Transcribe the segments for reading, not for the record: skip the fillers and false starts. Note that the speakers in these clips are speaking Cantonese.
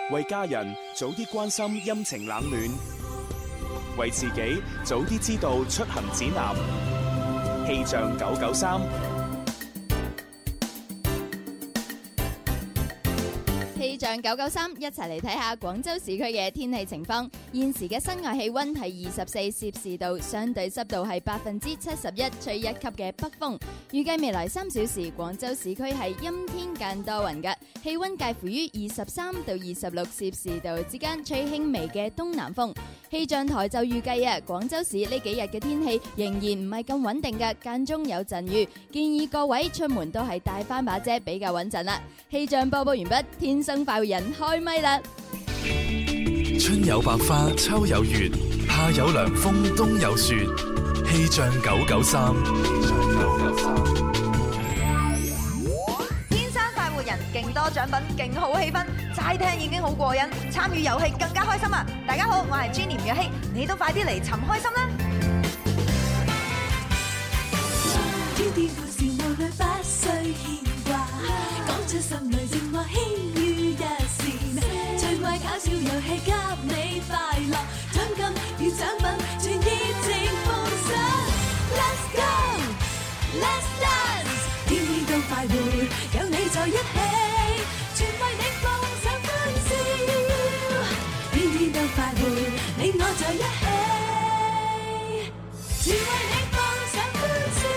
為家人早啲關心陰晴冷暖，為自己早啲知道出行指南。氣象993。 氣象993一齊嚟睇下廣州市區嘅天氣情況。現時嘅室外氣溫係24攝氏度，相對濕度係71%，吹1級嘅北風。預計未來3小時，廣州市區係陰天間多雲嘅，氣溫介乎於23到26攝氏度之間，吹輕微嘅東南風。氣象台就預計廣州市呢幾日嘅天氣仍然唔係咁穩定嘅，間中有陣雨，建議各位出門都係帶翻把遮比較穩陣啦。氣象播報完畢，天生快活人開咪啦！ 春有百花，秋有月，夏有涼風，冬有雪。氣象993， 天生快活人，勁多獎品，勁好氣氛，齋聽已經好過癮，參與遊戲更加開心啊！大家好，我係 Jenny 吳若希，你都快啲嚟尋開心啦！ 天天故事無慮不需牽掛，講出心裏情話輕於一線，趣怪搞笑遊戲給你快樂，獎金與獎品全熱情奉上。Let's go，Let's dance， 天天都快活，有你在一起，全為你放上歡笑，天天都快活，你我在一起，全為你放上歡笑。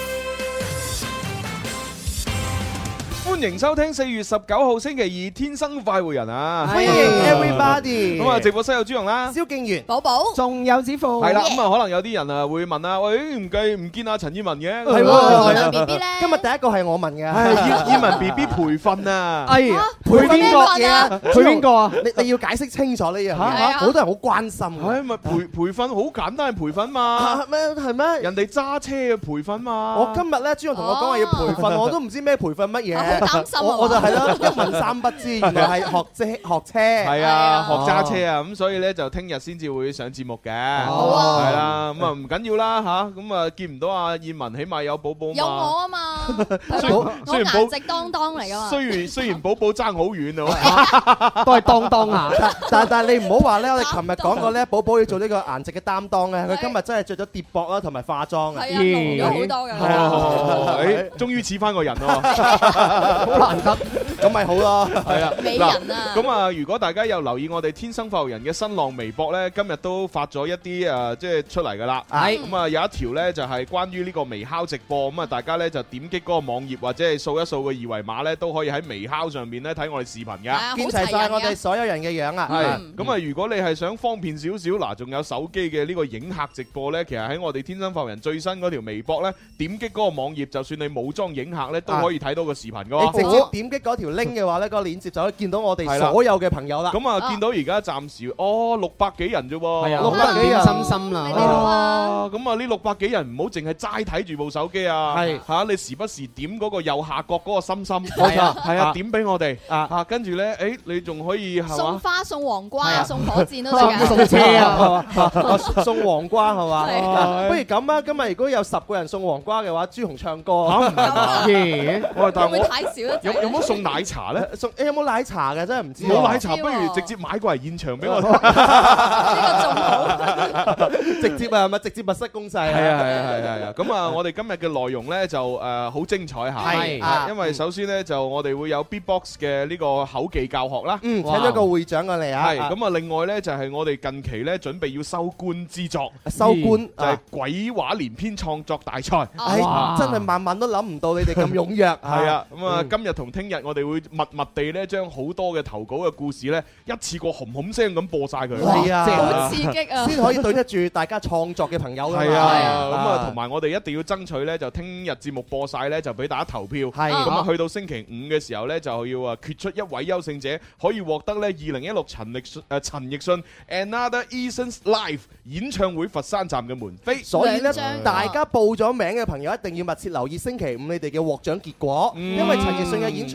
歡迎收聽4月19號星期二天生快活人啊！ 歡迎 everybody。 咁啊，直播室有朱紅啦， 蕭敬元、 寶寶， 仲有子富。 係啦，咁啊，可能有啲人啊會問啊，喂，唔見阿陳燕文嘅？ 係喎， 燕文 BB 咧？ 今日第一個係我問嘅。 係燕文 BB 培訓啊！ 哎呀，培邊個嘢？培邊個啊？你要解釋清楚呢樣嘢，好多人好關心。 係咪培訓好簡單嘅培訓嘛？ 咩係咩？ 人哋揸車嘅培訓嘛？ 我今日咧，朱紅同我講話要培訓，我都唔知咩培訓乜嘢。 擔心我就係咯，一問三不知，原來係學車。 係啊，學揸車啊，咁所以咧就聽日先至會上節目嘅。 好啊， 係啦，咁啊唔緊要啦吓，咁啊見唔到阿燕文，起碼有寶寶嘛。 有我啊嘛， 我顏值當當嚟噶嘛。 雖然寶寶爭好遠啊， 都係當下。但係你唔好話咧，我哋琴日講過咧，寶寶要做呢個顏值嘅擔當咧，佢今日真係着咗疊膊啦，同埋化妝啊， 係啊，濃咗好多㗎。 係終於似翻個人咯。 好難得，咁咪好咯， 係啊， 美人啊！ 咁啊，如果大家有留意我哋天生快活人嘅新浪微博咧，今日都發咗一啲即係出嚟噶啦。係咁啊，有一條咧就係關於呢個微敲直播，咁啊，大家咧就點擊嗰個網頁或者係掃一掃個二維碼咧，都可以喺微敲上面咧睇我哋視頻噶， 見齊晒我哋所有人嘅樣啊！ 係咁啊，如果你係想方便少少，嗱，仲有手機嘅呢個影客直播咧，其實喺我哋天生快活人最新嗰條微博咧，點擊嗰個網頁，就算你冇裝影客咧，都可以睇到個視頻噶。 你直接點擊嗰條 link 嘅話咧，嗰個鏈接就可以見到我哋所有嘅朋友啦。 咁啊，見到而家暫時600幾人啫喎， 係啊，600幾人心心啦。 咁啊，呢600幾人唔好淨係齋睇住部手機啊，係嚇，你時不時點嗰個右下角嗰個心心， 冇錯， 係啊，點俾我哋啊，跟住咧，誒，你仲可以送花、送黃瓜、送火箭都得㗎， 送車啊，送黃瓜係嘛？不如咁啊，今日如果有10個人送黃瓜嘅話，朱紅唱歌但會太少啦。 有冇送奶茶咧？ 有冇奶茶嘅？真係唔知。 冇奶茶，不如直接買過嚟現場俾我。 呢個仲好， 直接啊，咪直接物色攻勢。 係啊。咁啊，我哋今日嘅內容咧就好精彩下。係，因為首先咧就我哋會有 Beatbox 嘅呢個口技教學啦。 請咗個會長過嚟啊。 係，咁啊，另外咧就係我哋近期咧準備要收官之作。 收官就係鬼話連篇創作大賽。 真係晚晚都諗唔到你哋咁踴躍。 係啊，咁啊，今日同聽日我哋會密密地咧將好多嘅投稿嘅故事咧一次過轟轟聲咁播晒佢。 係啊， 好刺激啊！ 先可以對得住大家創作嘅朋友。 係啊，咁啊，同埋我哋一定要爭取咧，就聽日節目播晒咧，就俾大家投票。係，咁啊，去到星期5嘅時候咧，就要決出一位優勝者，可以獲得咧2016陳奕迅 Another Eason's Live 演唱會佛山站嘅門飛。 所以咧，大家報咗名嘅朋友一定要密切留意星期5你哋嘅獲獎結果，因為陳奕迅嘅演唱會喺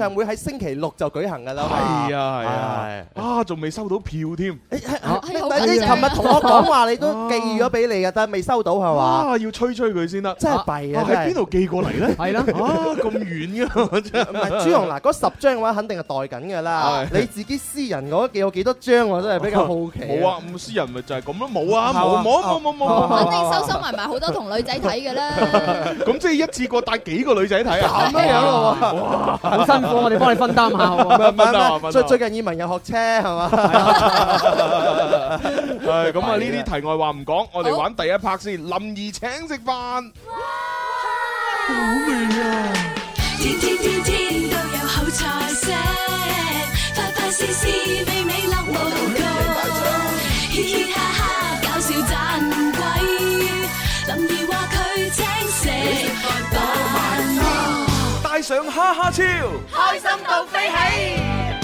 星期六就舉行㗎啦。 係啊，仲未收到票添。 你琴日同我講話你都寄咗俾你嘅，但係未收到係嘛？ 啊，要催佢先得。 真係弊啊！ 喺邊度寄過嚟咧？ 係啦， 咁遠㗎，真係。 唔係朱紅嗱，嗰10張嘅話肯定係待緊㗎啦。你自己私人嗰寄有幾多張我真係比較好奇。 冇啊，咁私人咪就係咁咯，冇啊，冇。 肯定收埋好多同女仔睇㗎啦。 咁即係一次過帶幾個女仔睇啊？ 咁樣咯喎， 哇，好辛苦，我哋幫你分擔下喎。 最近耳文又學車係嘛？ 係咁啊！呢啲題外話唔講，我哋玩第一 part 先。林兒請食飯，好味啊！ 天天天天都有好菜色，快快試試美美樂無窮，嘻嘻哈哈搞笑盞鬼，林兒話佢請食飯， 帶上哈哈超， 開心到飛起。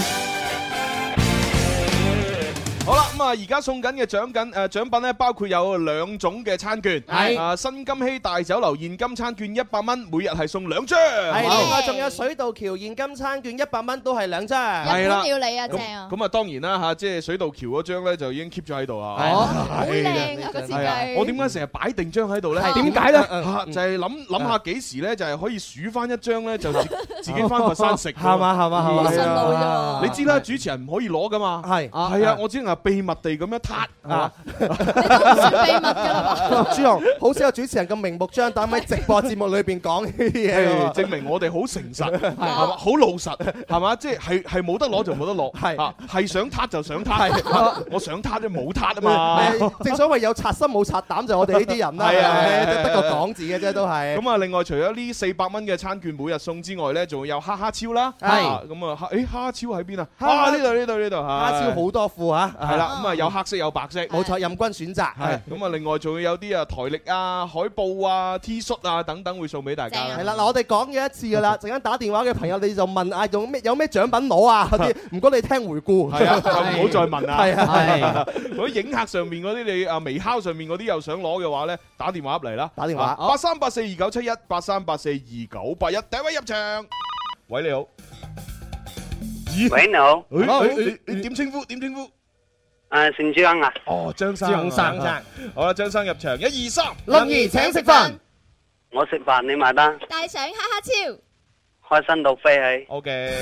好啦，咁啊，而家送緊嘅獎品咧，包括有2種嘅餐券，係新金禧大酒樓現金餐券100蚊，每日係送2張， 係另外仲有水道橋現金餐券100蚊，都係2張， 係啦，要你啊，正啊！ 咁啊，當然啦嚇，即係水道橋嗰張咧就已經 keep 咗喺度啦， 好靚啊個設計！ 我點解成日擺定張喺度咧？ 點解咧？ 就係諗下幾時咧，就係可以數翻一張咧，就自己翻佛山食， 係嘛？ 好順路啫。 你知啦，主持人唔可以攞噶嘛，係啊，我只能係秘密地咁樣撻啊！ 你都唔算秘密㗎啦嘛？ 朱紅好少有主持人咁明目張膽喺直播節目裏邊講呢啲嘢， 證明我哋好誠實，係嘛？好老實，係嘛？即係冇得攞就冇得攞，係想撻就想撻，我想撻都冇撻啊嘛！ 正所謂有賊心冇賊膽，就我哋呢啲人啦，得個講字嘅啫，都係。 咁啊，另外除咗呢400蚊嘅餐券每日送之外咧，仲會有哈哈超啦， 係咁啊，哈哈超喺邊啊？呢度， 哈超好多副嚇， 係啦，咁啊有黑色有白色， 冇錯，任君選擇。 係咁啊，另外仲會有啲啊台曆啊、海報啊、T 恤啊等等會送俾大家。 係啦，嗱我哋講咗一次㗎啦，陣間打電話嘅朋友你就問啊，有咩獎品攞啊嗰啲，唔該你聽回顧。 係啊，唔好再問啊。 係啊， 嗰啲影客上面嗰啲你啊微敲上面嗰啲又想攞嘅話咧，打電話入嚟啦。 打電話 83842971 83842981，第一位入場。喂，你好。 喂，你好。 你點稱呼？ 姓張啊。 哦，張生。好啦，張生入場，1、2、3， 林兒請食飯。 我食飯你埋單。 帶上哈哈超， 開心到飛起。 OK。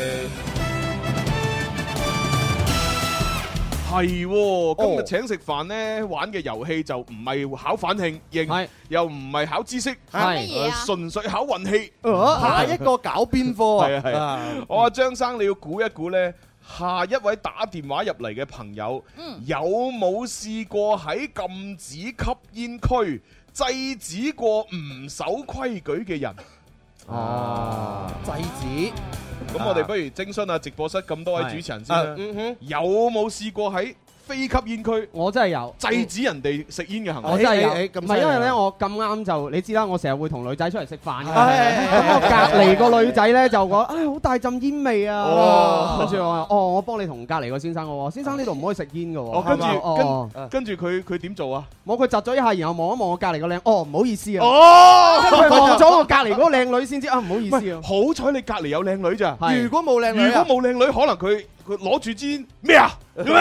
係，今日請食飯咧，玩嘅遊戲就唔係考反應，又唔係考知識，純粹考運氣。 下一個搞邊科啊？ 係啊！我話張生，你要估一估咧，下一位打電話入嚟嘅朋友，有冇試過喺禁止吸煙區制止過唔守規矩嘅人？ 制止。 咁我哋不如徵詢下直播室咁多位主持人先啦。有冇試過喺非吸煙區？ 我真係有制止人哋食煙嘅行為。 我真係有，唔係因為咧，我咁啱就你知啦，我成日會同女仔出嚟食飯嘅。咁我隔離個女仔咧就講：唉，好大陣煙味啊！跟住我話：哦，我幫你同隔離個先生我話：先生呢度唔可以食煙嘅喎。 跟住佢點做啊？ 冇，佢窒咗一下，然後望一望我隔離個靚，哦，唔好意思啊。佢望咗我隔離嗰個靚女先知啊，唔好意思啊。 好彩你隔離有靚女咋？ 如果冇靚女， 可能佢攞住支咩啊？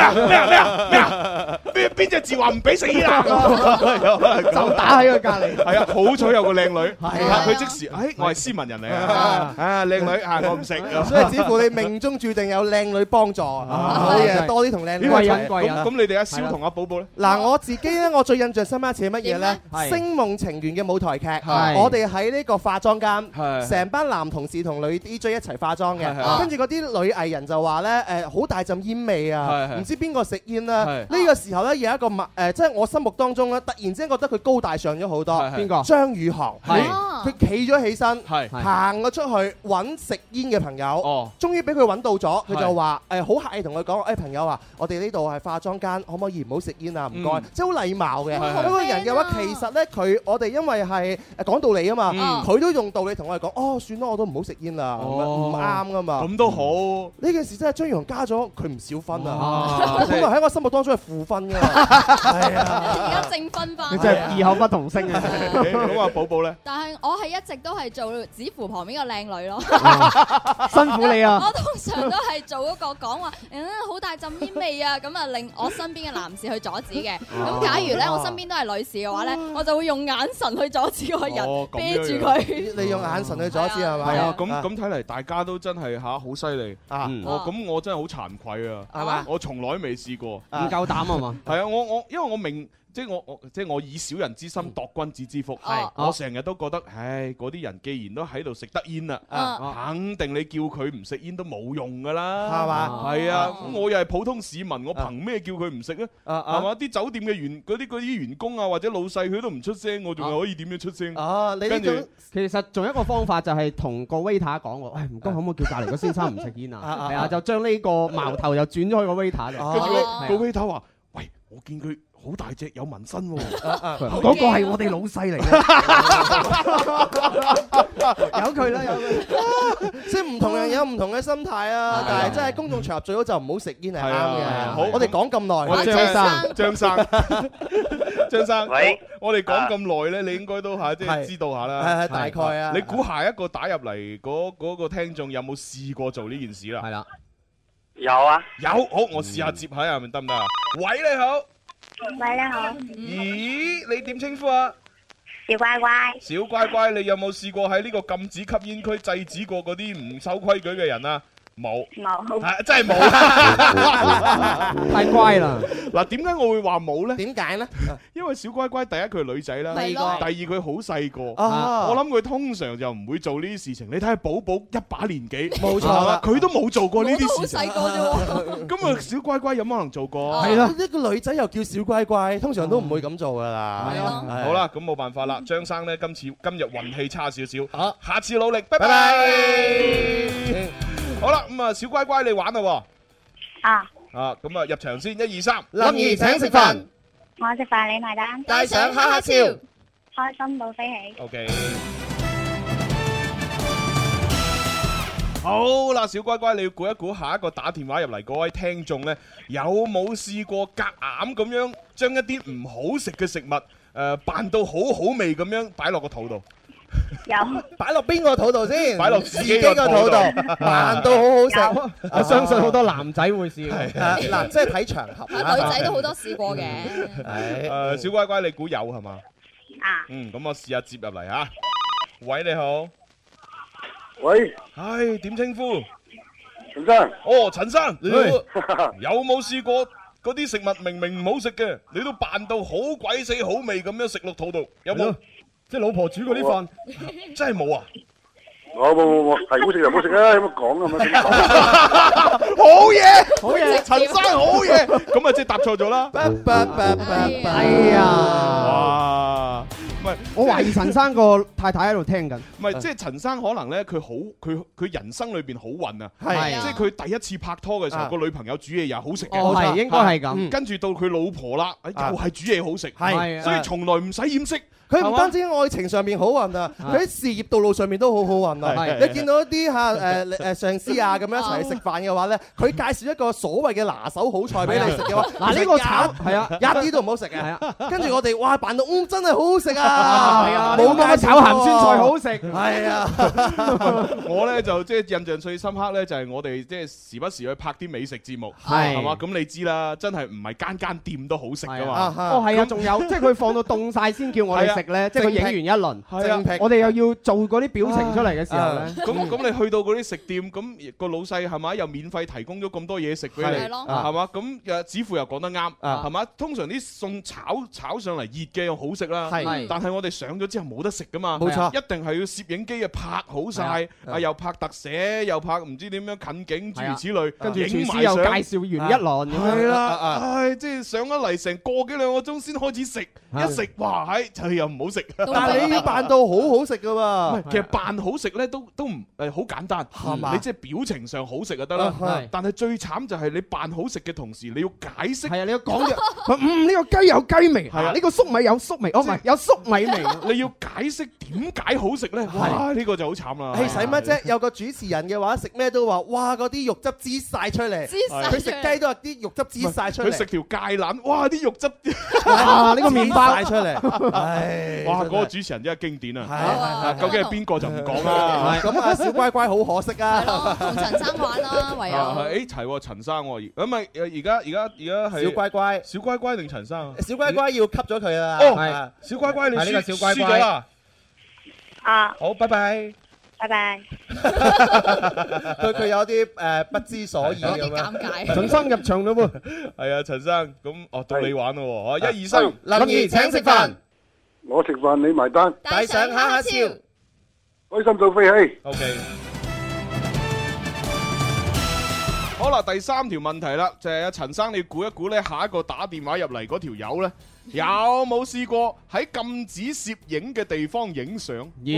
邊隻字話唔俾食煙啊？ 就打喺佢隔離。 係啊，好彩有個靚女，佢即時，我係斯文人嚟啊！靚女我唔食。 所以只乎你命中注定有靚女幫助，好嘢，多啲同靚女一齊。 咁你哋阿蕭同阿寶寶咧？ 嗱，我自己咧，我最印象深刻一次係乜嘢咧？《星夢情緣》嘅舞台劇，我哋喺呢個化妝間，成班男同事同女 DJ 一齊化妝嘅，跟住嗰啲女藝人就話咧，好大陣煙味啊！唔知邊個食煙啦？呢個時候咧有一個即係我心目當中咧，突然之間覺得佢高大上咗好多。 邊個？ 張宇航。佢企咗起身，行咗出去揾食煙嘅朋友。終於俾佢揾到咗，佢就話好客氣同佢講：朋友啊，我哋呢度係化妝間，可唔可以唔好食煙啊？唔該，即係好禮貌嘅。嗰個人嘅話，其實咧我哋因為係講道理啊嘛，佢都用道理同我哋講：哦，算啦，我都唔好食煙啦，唔啱噶嘛。 咁都好。 呢件事真係張宇航加咗佢唔少分啊！ 咁咪喺我心目當中係負分㗎。係啊， 而家正分翻。 你真係異口不同聲啊！ 咁啊，寶寶咧？ 但係我係一直都係做指扶旁邊個靚女咯。 辛苦你啊！ 我通常都係做嗰個講話，好大陣煙味啊，咁啊令我身邊嘅男士去阻止嘅。咁假如咧我身邊都係女士嘅話咧，我就會用眼神去阻止個人，啤住佢。 你用眼神去阻止係咪？ 係啊，咁睇嚟大家都真係好犀利啊！咁我真係好慚愧啊！ 係嘛？ 我從來未試過， 唔夠膽啊嘛！ 係啊，因為我明。即係我以小人之心度君子之腹，我成日都覺得，唉，嗰啲人既然都喺度食得煙啦，肯定你叫佢唔食煙都冇用噶啦， 係嘛？ 係啊，咁我又係普通市民，我憑咩叫佢唔食咧？係嘛？啲酒店嘅嗰啲員工啊，或者老細佢都唔出聲，我仲係可以點樣出聲？ 你呢種其實仲有一個方法就係同個 waiter 講喎，唔該可唔可以叫隔離個先生唔食煙啊？係啊，就將呢個矛頭又轉咗去個 waiter 度。 跟住個 waiter 話：喂，我見佢好大隻有紋身喎， 嗰個係我哋老細嚟嘅，由佢啦，由佢。 即係唔同人有唔同嘅心態啊，但係真係公眾場合最好就唔好食煙係啱嘅。 好， 我哋講咁耐， 張生， 喂， 我哋講咁耐咧，你應該都即係知道下啦。 係大概啊。 你估下一個打入嚟嗰個聽眾有冇試過做呢件事啦？ 係啦， 有啊， 有，好，我試下接下係咪得唔得啊？喂，你好。 喂，你好。 咦，你點稱呼啊？ 小乖乖。 小乖乖，你有冇試過喺呢個禁止吸煙區制止過嗰啲唔守規矩嘅人啊？冇，真係冇， 太乖啦！ 嗱，點解我會話冇咧？ 點解咧？ 因為小乖乖第一佢係女仔啦，第二佢好細個， 我諗佢通常就唔會做呢啲事情。你睇下寶寶一把年紀， 冇錯啦， 佢都冇做過呢啲事情。 好細個啫喎， 咁啊，小乖乖有冇可能做過？ 係啦，一個女仔又叫小乖乖，通常都唔會咁做噶啦。 係咯。 好啦，咁冇辦法啦，張生咧今日運氣差少少，下次努力，拜拜。好啦，咁啊，小乖乖你玩啦喎。咁啊，入場先，1、2、3， 林兒請食飯， 我食飯你埋單， 帶上哈哈笑， 開心到飛起。 OK。好啦，小乖乖，你要估一估下一個打電話入嚟嗰位聽眾呢，有冇試過夾硬咁樣將一啲唔好食嘅食物扮到好好味咁樣擺落個肚度？ 有。 擺落邊個肚度先？ 擺落自己個肚度， 扮到好好食。 我相信好多男仔會試嘅。 嗱，即係睇場合。 女仔都好多試過嘅。 係。小乖乖，你估有係嘛？咁我試下接入嚟嚇。喂，你好。 喂。 唉，點稱呼？ 陳生。 哦，陳生，你好。有冇試過嗰啲食物明明唔好食嘅，你都扮到好鬼死好味咁樣食落肚度？有冇？ 即係老婆煮嗰啲飯， 真係冇啊！ 冇，係好食就唔好食啊！有乜講啊？ 好嘢，好嘢，陳生好嘢，咁啊即係答錯咗啦！ 哎呀， 哇！唔係， 我懷疑陳生個太太喺度聽緊。 唔係，即係陳生可能咧，佢人生裏邊好運啊！ 係， 即係佢第一次拍拖嘅時候，個女朋友煮嘢又好食嘅， 係應該係咁。 跟住到佢老婆啦，又係煮嘢好食，係，所以從來唔使掩飾。 佢唔單止喺愛情上面好運啊，佢喺事業道路上面都好好運啊！你見到一啲上司啊咁樣一齊去食飯嘅話咧，佢介紹一個所謂嘅拿手好菜俾你食嘅話， 嗱呢個炒係啊， 一啲都唔好食嘅。跟住我哋哇扮到真係好好食啊！ 係啊，冇咁炒鹹酸菜好食。 係啊， 我咧就即係印象最深刻咧，就係我哋即係時不時去拍啲美食節目， 係嘛？咁你知啦，真係唔係間店都好食噶嘛？ 哦係啊，仲有即係佢放到凍晒先叫我哋食咧，即係佢影完一輪，我哋又要做嗰啲表情出嚟嘅時候咧， 咁你去到嗰啲食店，咁個老細係咪又免費提供咗咁多嘢食俾你，係嘛？咁子父又講得啱，係嘛？通常啲餸炒上嚟熱嘅又好食啦，但係我哋上咗之後冇得食噶嘛， 冇錯， 一定係要攝影機啊拍好晒，又拍特寫，又拍唔知點樣近景諸如此類， 跟住廚師又介紹完一輪， 係啦，唉，即係上咗嚟成個幾兩個鐘先開始食，一食哇，就又唔好食。 但係你要扮到好好食噶嘛？ 其實扮好食咧都唔好簡單，係嘛？你即係表情上好食就得啦。但係最慘就係你扮好食嘅同時，你要解釋。 係啊，你要講嘅。呢個雞有雞味，係啊，呢個粟米有粟味，哦唔係有粟米米味， 你要解釋點解好食咧？哇！呢個就好慘啦。 使乜啫？有個主持人嘅話，食咩都話，哇！嗰啲肉汁滋晒出嚟。佢食雞都有啲肉汁滋晒出嚟。 佢食條芥蘭，哇！啲肉汁， 哇！呢個麵包晒出嚟。 哇！嗰個主持人真係經典啊！究竟係邊個就唔講啦。 咁啊，小乖乖好可惜啊。 同陳生玩啦，唯有。 誒齊喎，陳生喎，咁咪而家係小乖乖， 小乖乖定陳生？ 小乖乖要吸咗佢啦。 哦，小乖乖你輸咗啦。 啊， 好，拜拜。 拜拜。 佢有啲不知所以咁樣。 尷尬。 陳生入場咯喎。 係啊，陳生，咁到你玩咯喎，1、2、3， 林怡請食飯， 我食飯你埋單， 帶上哈哈笑， 開心到飛起。 OK。好啦，第3條問題啦，就係阿陳生，你估一估咧，下一個打電話入嚟嗰條友咧，有冇試過喺禁止攝影嘅地方影相？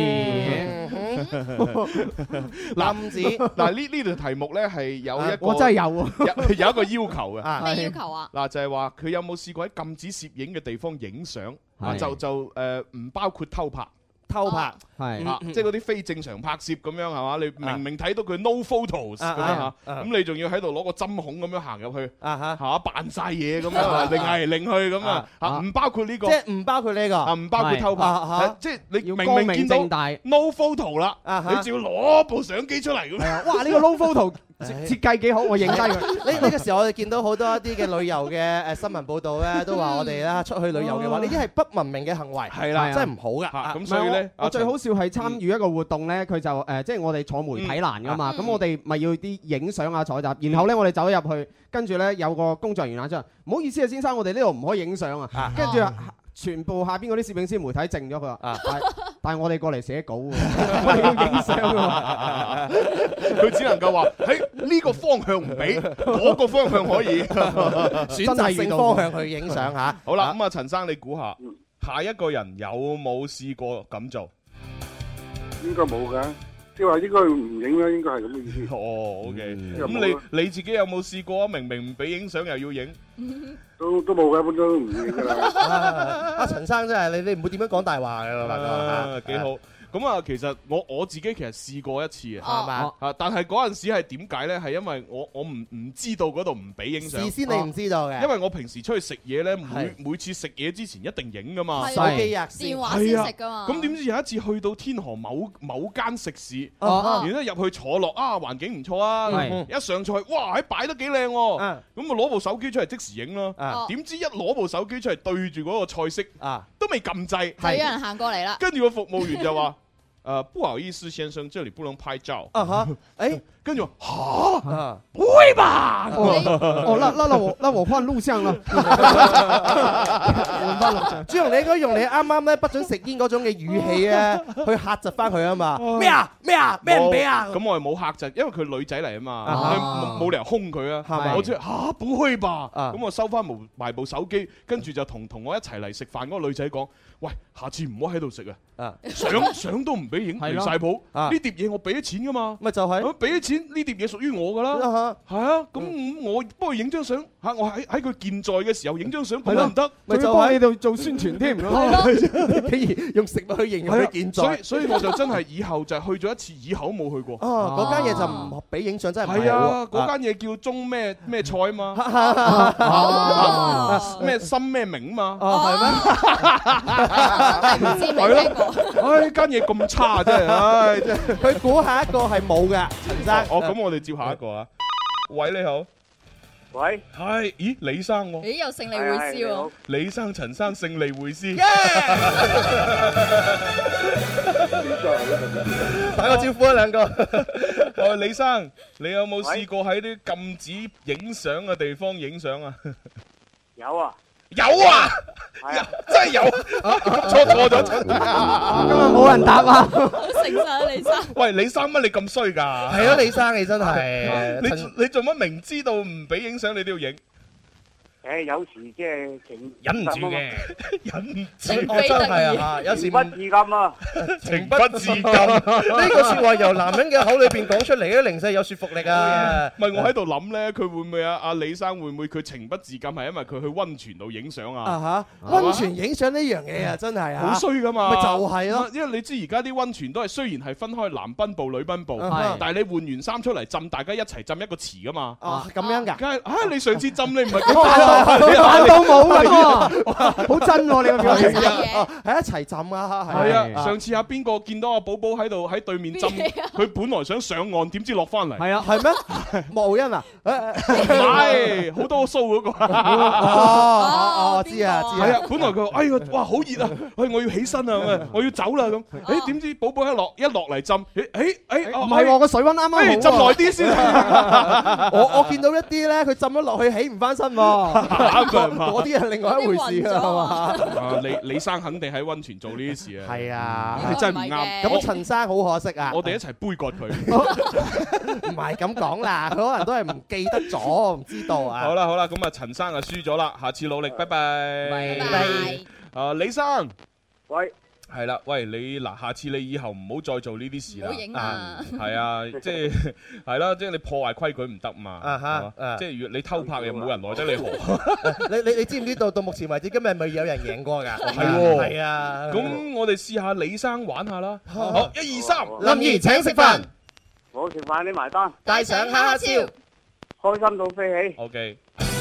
禁止嗱呢條題目咧係有一個， 我真係有喎，有一個要求嘅。 咩要求啊？ 嗱就係話佢有冇試過喺禁止攝影嘅地方影相？就唔包括偷拍。 偷拍係，即係嗰啲非正常拍攝咁樣係嘛？你明明睇到佢 no photos 咁樣嚇，咁你仲要喺度攞個針孔咁樣行入去，嚇扮晒嘢咁樣，擰嚟擰去咁啊，唔包括呢個， 即係唔包括呢個， 唔包括偷拍，即係你明明見到 no photo 啦，你就要攞部相機出嚟咁樣。 哇！呢個 no photo設計幾好，我影低佢。 呢個時候我哋見到好多一啲嘅旅遊嘅新聞報導咧，都話我哋咧出去旅遊嘅話，呢啲係不文明嘅行為， 係啦， 真係唔好噶。 咁所以咧， 我最好笑係參與一個活動咧，佢就即係我哋坐媒體欄噶嘛，咁我哋咪要啲影相啊採集，然後咧我哋走入去，跟住咧有個工作人員出嚟，唔好意思啊先生，我哋呢度唔可以影相啊，跟住全部下邊嗰啲攝影師媒體靜咗佢話，但係我哋過嚟寫稿喎，我哋要影相喎， 佢只能夠話喺呢個方向唔俾，嗰個方向可以， 選擇性方向去影相嚇。 好啦，咁啊陳生你估下，下一個人有冇試過咁做？ 應該冇㗎，即係話應該唔影啦，應該係咁嘅意思。 哦，OK，咁你自己有冇試過啊？明明唔俾影相又要影， 都冇嘅，一般都唔影㗎啦。 阿陳生真係你唔會點樣講大話㗎，大哥幾好。咁啊，其實我自己其實試過一次嘅， 係嘛？ 但係嗰陣時係點解咧？係因為我唔知道嗰度唔俾影相。 事先你唔知道嘅， 因為我平時出去食嘢咧，每次食嘢之前一定影噶嘛， 手機啊， 電話先食噶嘛。 咁點知有一次去到天河某間食肆，然後入去坐落啊，環境唔錯啊，一上菜，哇，喺擺得幾靚喎，咁啊攞部手機出嚟即時影咯。點知一攞部手機出嚟對住嗰個菜式，都未撳掣， 就有人行過嚟啦。 跟住個服務員就話。不好意思，先生，這裡不能拍照。跟住話嚇，不會吧？ 那我換錄像啦。 朱紅，你應該用你啱啱咧不准食煙嗰種嘅語氣咧，去嚇窒翻佢啊嘛。咩唔俾啊？ 咁我係冇嚇窒，因為佢女仔嚟啊嘛，冇理由兇佢啊。我即係嚇，不會吧？咁我收翻埋部手機，跟住就同我一齊嚟食飯嗰個女仔講：喂，下次唔好喺度食啊！相都唔俾影，離曬譜。呢碟嘢我俾咗錢噶嘛， 咪就係俾咗錢。呢碟嘢屬於我噶啦，係啊，咁我幫佢影張相嚇，我喺佢健在嘅時候影張相，咁唔得， 咪就喺度做宣傳添， 竟然用食物去形容佢健在， 所以我就真係以後就係去咗一次，以後冇去過。 嗰間嘢就唔俾影相，真係係啊！嗰間嘢叫中咩菜啊嘛，咩心咩名啊嘛， 係咩？ 唔知未聽過。 唉，間嘢咁差真係，唉，真係。 佢估下一個係冇嘅，陳生。 咁我哋接下一個啊。喂，你好。 喂。 係，咦，李生喎。 咦，又勝利會師喎。 李生、陳生勝利會師。 打個招呼啊，兩個。 李生，你有冇試過喺啲禁止影相嘅地方影相啊？ 有啊。 有啊，真係有，錯咗，今日冇人答啊！ 成晒李生。 喂，李生乜你咁衰㗎？ 係啊，李生你真係， 你做乜明知道唔俾影相你都要影？ 有時即係忍唔住嘅，忍唔住， 我真係啊，有時不自禁啊， 情不自禁。 呢個説話由男人嘅口裏邊講出嚟咧，零舍有說服力啊！ 唔係我喺度諗咧，佢會唔會啊？阿李生會唔會佢情不自禁係因為佢去溫泉度影相啊？ 溫泉影相呢樣嘢啊，真係好衰噶嘛！ 咪就係咯， 因為你知而家啲溫泉都係雖然係分開男賓部、女賓部，但係你換完衫出嚟浸，大家一齊浸一個池噶嘛。 哦，咁樣㗎？ 梗係你上次浸你唔係咁扮到冇㗎喎，好真喎！你個表情係一齊浸啊！ 係啊，上次阿邊個見到阿寶寶喺度喺對面浸，佢本來想上岸，點知落翻嚟？ 係啊， 係咩？莫浩欣啊？ 唔係，好多鬚嗰個。 我知啊， 係啊，本來佢話：哎呀，哇，好熱啊！我要起身啊，我要走啦咁。誒點知寶寶一落嚟浸，唔係喎，個水溫啱啱好， 浸耐啲先。 我見到一啲咧，佢浸咗落去起唔翻身喎，嗰啲係另外一回事啊，係嘛？ 李生肯定喺溫泉做呢啲事啊。 係啊， 你真係唔啱。 咁陳生好可惜啊！ 我哋一齊杯葛佢。 唔係咁講啦，佢可能都係唔記得咗，唔知道啊。 好啦，咁啊，陳生啊輸咗啦，下次努力，拜拜。 拜拜。 李生， 喂。 係啦，喂你嗱，下次你以後唔好再做呢啲事啦。 唔好影啊！ 係啊，即係啦，即係你破壞規矩唔得嘛。即係如果你偷拍又冇人來得你何？ 你知唔知道到目前為止今日咪有人贏過㗎？ 係喎。 係啊。 咁我哋試下李生玩下啦。好，1、2、3， 林怡請食飯。 我食飯你埋單。 帶上哈哈笑， 開心到飛起。 OK。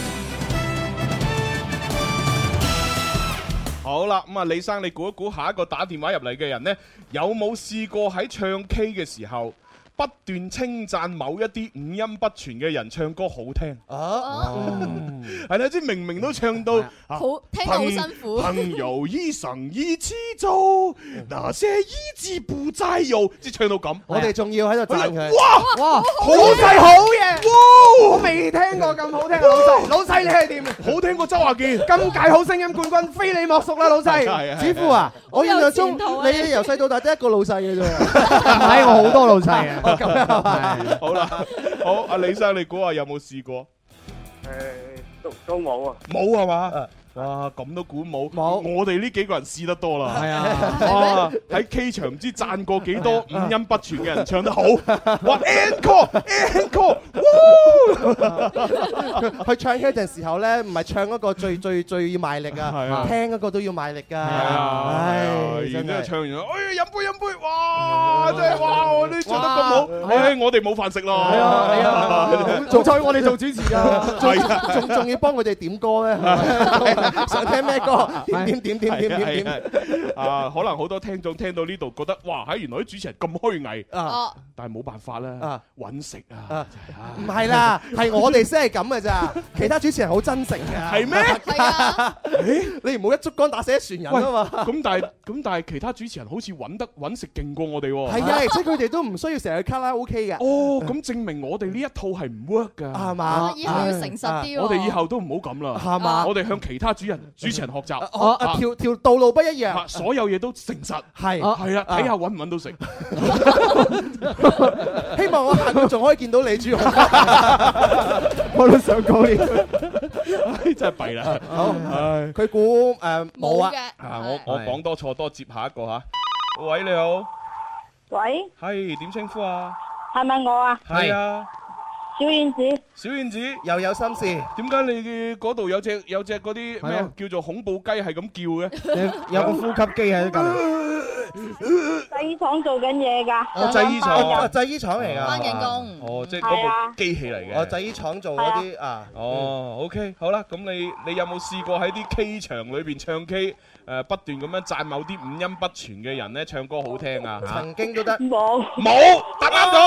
好啦，咁啊，李生，你估一估下一個打電話入嚟嘅人呢，有冇試過喺唱 K 嘅時候不斷稱讚某一啲五音不全嘅人唱歌好聽？係啦，即係明明都唱到好聽到好辛苦。 朋友一生一起走，那些日子不再有，即係唱到咁。 我哋仲要喺度讚佢。 哇，好細好嘢！哇，我未聽過咁好聽嘅老細。老細你係點？ 好聽過周華健。 今屆好聲音冠軍非你莫屬啦，老細。 子富啊，我印象中你由細到大得一個老細嘅啫。 唔係，我好多老細啊。 咁樣好啦，好，阿李生，你估下有冇試過？ 都冇啊， 冇係嘛？哇，咁都估冇，我哋呢幾個人試得多啦。 係啊， 哇，喺 K 場唔知讚過幾多五音不全嘅人唱得好。哇 ，encore， 去唱 K 陣時候咧，唔係唱嗰個最要賣力啊，聽嗰個都要賣力㗎。 唉，然之後唱完，哎，飲杯，哇，真係哇，我哋唱得咁好，唉，我哋冇飯食咯。 係啊，做菜我哋做主持㗎， 仲要幫佢哋點歌咧。想聽咩歌？點啊！可能好多聽眾聽到呢度覺得，哇！原來啲主持人咁虛偽啊！ 但係冇辦法啦，揾食啊！ 唔係啦，係我哋先係咁嘅咋，其他主持人好真誠嘅。 係咩？ 係啊！ 你唔好一竹竿打死一船人啊嘛！ 咁但係其他主持人好似揾食勁過我哋喎。 係啊，而且佢哋都唔需要成日卡拉 OK 嘅。 哦，咁證明我哋呢一套係唔 work 㗎， 係嘛？ 以後要誠實啲。 我哋以後都唔好咁啦， 係嘛？ 我哋向其他主持人學習， 條道路不一樣， 所有嘢都誠實，係啊，睇下揾唔揾到食。 希望我下個仲可以見到你，朱紅。 我都想講呢， 真係弊啦。 好，佢估冇啊。 我講多錯多，接下一個嚇。喂，你好。 喂。 係點稱呼啊？ 係咪我啊？ 係啊。 小燕子， 小燕子又有心事， 點解你嗰度有隻嗰啲咩叫做恐怖雞係咁叫嘅？ 有個呼吸機喺隔離。 製衣廠做緊嘢㗎。 製衣廠， 製衣廠嚟㗎。 翻緊工。 哦，即係嗰部機器嚟嘅。 製衣廠做嗰啲啊。 哦，OK，好啦，咁你有冇試過喺啲 K 場裏邊唱 K？不斷咁樣讚某啲五音不全嘅人咧，唱歌好聽啊！ 曾經都得。 冇， 答啱咗。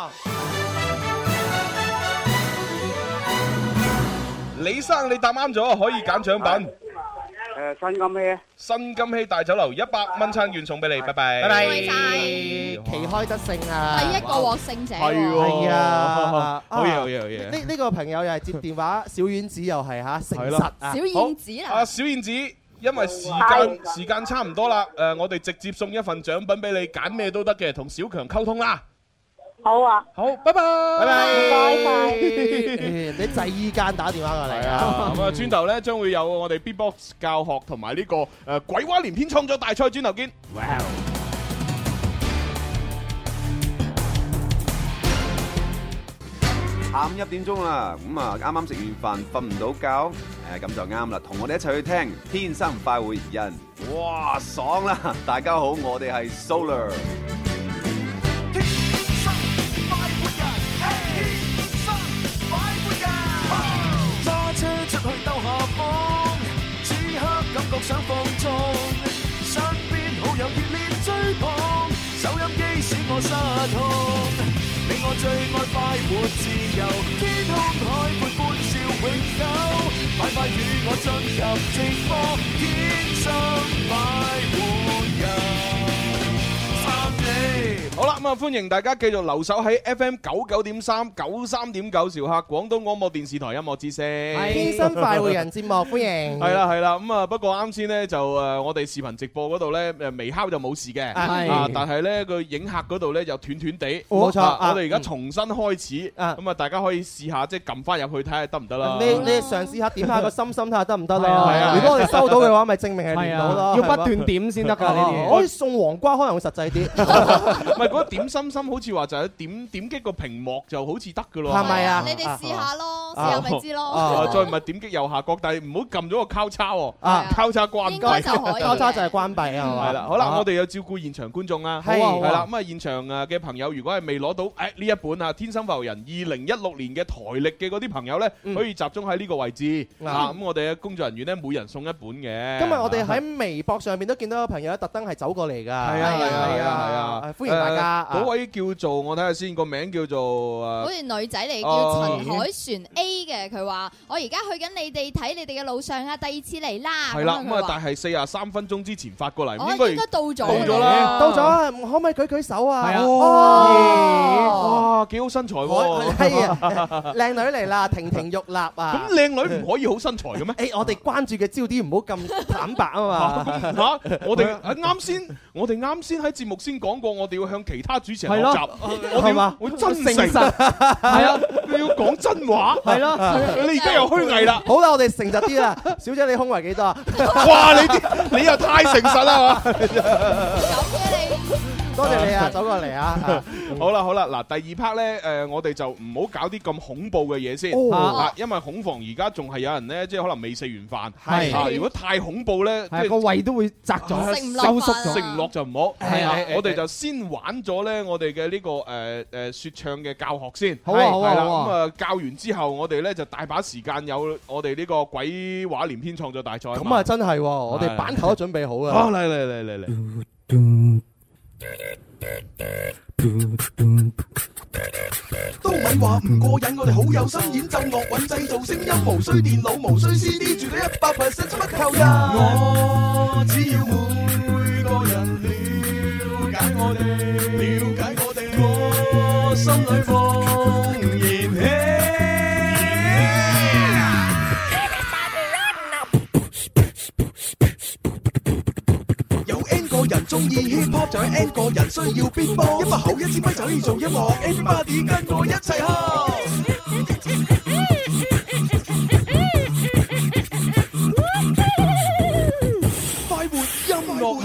李生，你答啱咗，可以揀獎品。 新金禧， 新金禧大酒樓100蚊餐券送俾你，拜拜。 拜拜。 奇開得勝啊！ 第一個獲勝者。 係啊， 好嘢。 呢個朋友又係接電話，小丸子又係嚇誠實啊。 小燕子啊！ 小燕子，因為時間差唔多啦，我哋直接送一份獎品俾你，揀咩都得嘅，同小強溝通啦。 好啊， 好，拜拜， 拜拜， 唔該晒。 你製衣間打電話過嚟啊！ 咁啊，轉頭咧將會有我哋 Beatbox 教學同埋呢個鬼話連篇創作大賽，轉頭見。哇！ 下午1點鐘啦，咁啊啱啱食完飯瞓唔到覺，咁就啱啦，同我哋一齊去聽《天生快活人》，哇爽啦！大家好，我哋係 Solar。 天生快活人，天生快活人，揸車出去兜下風，此刻感覺想放縱，身邊好友熱烈追捧，收音機使我失控。你我最愛快活自由，天空海闊歡笑永久，快快與我進入直播，天生快活人。 好啦，咁啊，歡迎大家繼續留守喺 FM 99.3、93.9兆赫廣東廣播電視台音樂之聲。 天生快活人節目，歡迎。 係啦係啦，咁啊，不過啱先咧就我哋視頻直播嗰度咧微敲就冇事嘅，但係咧個影客嗰度咧就斷斷地。 冇錯， 我哋而家重新開始，咁啊，大家可以試下即係撳翻入去睇下得唔得啦。 你嘗試下點下個心心睇下得唔得啦。如果我哋收到嘅話，咪證明係連到咯。 要不斷點先得㗎呢啲。 可以送黃瓜，可能會實際啲。 唔係嗰個點心心好似話就係點擊個屏幕就好似得㗎咯。 係咪啊？ 你哋試下咯，試下咪知咯。 再唔係點擊右下角，但係唔好撳咗個交叉喎。交叉關閉。 應該就可以。 交叉就係關閉啊嘛。 係啦，好啦，我哋有照顧現場觀眾啊。 係啦，咁啊現場嘅朋友，如果係未攞到呢一本啊《天生快活人》2016年嘅台歷嘅嗰啲朋友咧，可以集中喺呢個位置啊。咁我哋嘅工作人員咧，每人送一本嘅。 今日我哋喺微博上面都見到有朋友特登係走過嚟㗎。 係啊， 歡迎大家。 嗰位叫做我睇下先，個名叫做好似女仔嚟，叫陳海璇 A 嘅。佢話：我而家去緊你哋睇你哋嘅路上啊，第2次嚟啦。 係啦，咁啊，但係43分鐘之前發過嚟， 應該到咗。 到咗啦， 到咗，可唔可以舉舉手啊？ 係啊。 哇，幾好身材喎！ 係啊，靚女嚟啦，亭亭玉立啊！ 咁靚女唔可以好身材嘅咩？ 誒，我哋關注嘅焦點唔好咁坦白啊嘛！ 嚇，我哋啱先喺節目先講過，我哋要向其他主持人學習，我哋要真誠，係啊，你要講真話，係咯。你而家又虛偽啦！ 好啦，我哋誠實啲啦，小姐你胸圍幾多啊？ 哇！你又太誠實啦，係嘛？ 多謝你啊，走過嚟啊！ 好啦，嗱，第2 part 咧，我哋就唔好搞啲咁恐怖嘅嘢先，因為恐防而家仲係有人咧，即係可能未食完飯，係如果太恐怖咧，即係個胃都會窄咗， 收縮咗， 食唔落就唔好。係啊，我哋就先玩咗咧，我哋嘅呢個説唱嘅教學先。 好啊，好啊， 咁啊，教完之後，我哋咧就大把時間有我哋呢個鬼話連篇創作大賽。 咁啊，真係，我哋板頭都準備好啊！ 好，嚟。 都咪話唔過癮，我哋好有心，演奏樂韻製造聲音，無需電腦，無需 CD， 絕對100%乜靠人。我只要每個人了解我哋，我心裏放燃氣。人中意 hip hop 就係 N 個人需要 beatbox，一把口一支咪就可以做音樂 ，Everybody 跟我一齊哈！快活音樂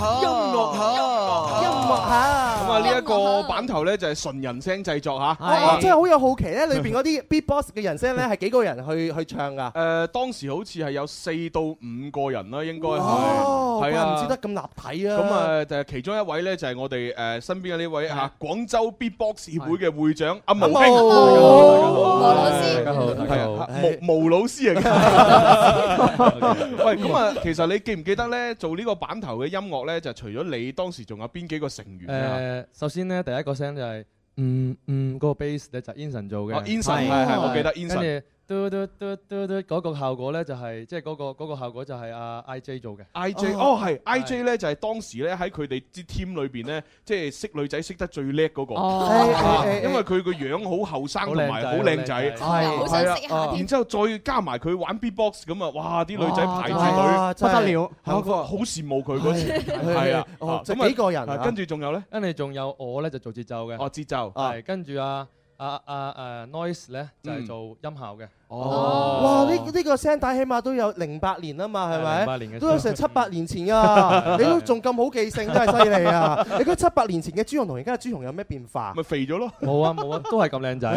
下。 咁啊，呢一個版頭咧就係純人聲製作嚇。 我真係好有好奇咧，裏邊嗰啲 beatbox 嘅人聲咧係幾個人去唱㗎？ 當時好似係有4到5個人啦，應該係。 係啊，唔知得咁立體啊！ 咁啊，就係其中一位咧，就係我哋身邊嘅呢位嚇廣州 Beatbox 協會嘅會長阿毛兄。 毛老師， 大家好，大家好，毛老師啊！喂，咁啊，其實你記唔記得咧做呢個版頭嘅音樂咧，就除咗你，當時仲有邊幾個成員啊？ 首先咧，第一個聲就係嗰個 bass 咧就 Inson 做嘅。 Inson 係我記得 Inson。 嘟嘟嘟嘟嘟嗰個效果咧就係即係嗰個效果就係阿 IJ 做嘅。 IJ 哦係 IJ 咧就係當時咧喺佢哋支 team 裏邊咧，即係識女仔識得最叻嗰個。因為佢個樣好後生同埋好靚仔，係啊，然之後再加埋佢玩 beatbox 咁啊，哇！啲女仔排住隊不得了， 好羨慕佢嗰時，係啊， 咁幾個人， 跟住仲有咧， 跟住仲有我咧就做節奏嘅， 節奏係跟住Noise 咧就係做音效嘅。 哇！呢個聲帶起碼都有08年啊嘛，係咪 ？08年嘅， 都有成7-8年前㗎，你都仲咁好記性，真係犀利啊！你覺得7-8年前嘅朱紅同而家嘅朱紅有咩變化？ 咪肥咗咯？ 冇啊，都係咁靚仔。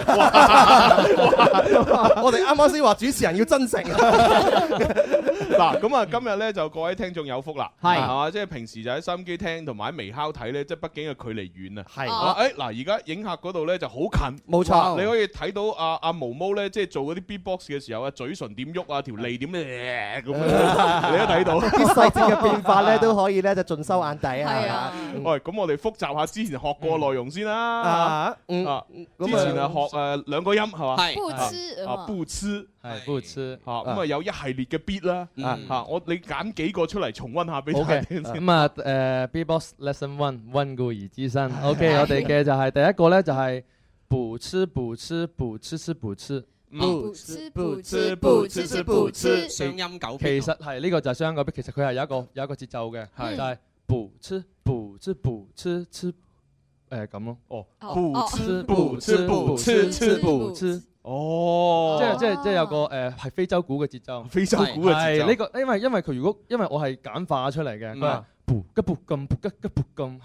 我哋啱啱先話主持人要真誠。 嗱，咁啊，今日咧就各位聽眾有福啦， 係嘛？即係平時就喺收音機聽同埋喺微烤睇咧，即係畢竟嘅距離遠啊。 係嗱，而家影客嗰度咧就好近， 冇錯， 你可以睇到阿毛毛咧，即係做嗰啲 beatbox 嘅時候啊，嘴唇點喐啊，條脷點咧咁樣，你都睇到啲細節嘅變化咧，都可以咧就盡收眼底啊！ 係啊， 喂，咁我哋複習下之前學過內容先啦。之前啊學兩個音係嘛？ 係不吃不吃係不吃嚇，咁啊有一系列嘅 beat 啦嚇，你揀幾個出嚟重溫下俾大家聽先。 咁啊Beatbox Lesson 1溫故而知新。OK， 我哋嘅就係第一個咧就係不吃不吃不吃吃不吃。 不吃不吃不吃吃不吃， 雙音狗。 其實係呢個就係雙音狗，其實佢係有一個節奏嘅，就係不吃不吃不吃吃咁咯。 哦，不吃不吃不吃吃不吃。哦， 即係有個係非洲鼓嘅節奏。 非洲鼓嘅節奏。 係呢個，因為佢因為我係簡化出嚟嘅，佢係噗吉噗咁噗吉吉噗咁。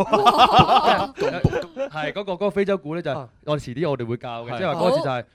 係嗰個非洲鼓咧就係我哋遲啲我哋會教嘅，即係話嗰個字就係。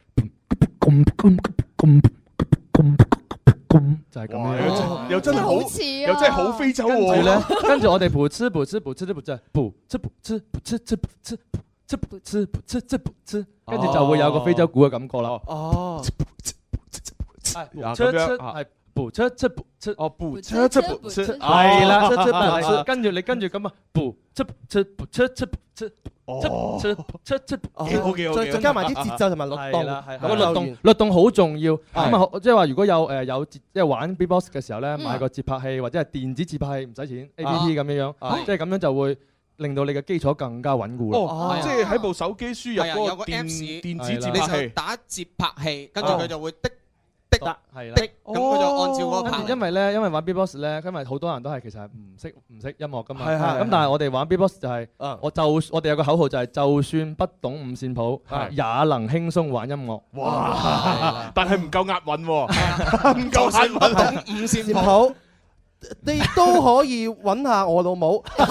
就係咁樣， 又真係好似，又真係好非洲喎。 跟住我哋不吃不吃不吃不吃不吃不吃不吃吃不吃吃不吃不吃吃不吃，跟住就會有個非洲鼓嘅感覺啦。 哦， 係不吃吃不吃， 哦不吃吃不吃， 係啦，跟住咁啊，不吃不吃不吃吃不吃。出， 再加埋啲節奏同埋律動， 個律動好重要。咁啊，即係話如果有即係玩 beatbox 嘅時候咧，買個節拍器或者係電子節拍器唔使錢 APP 咁樣，即係咁樣就會令到你嘅基礎更加穩固啦。 哦，即係喺部手機輸入嗰個電子節拍器， 打節拍器，跟住佢就會的。 係啦， 咁佢就按照嗰個拍。 因為玩 beatbox 咧，因為好多人都係其實係唔識音樂噶嘛。咁但係我哋玩 beatbox 就係，我哋有個口號就係，就算不懂五線譜，也能輕鬆玩音樂。 哇！但係唔夠押韻喎，唔夠押韻。 懂五線譜。你都可以揾下我老母， 唔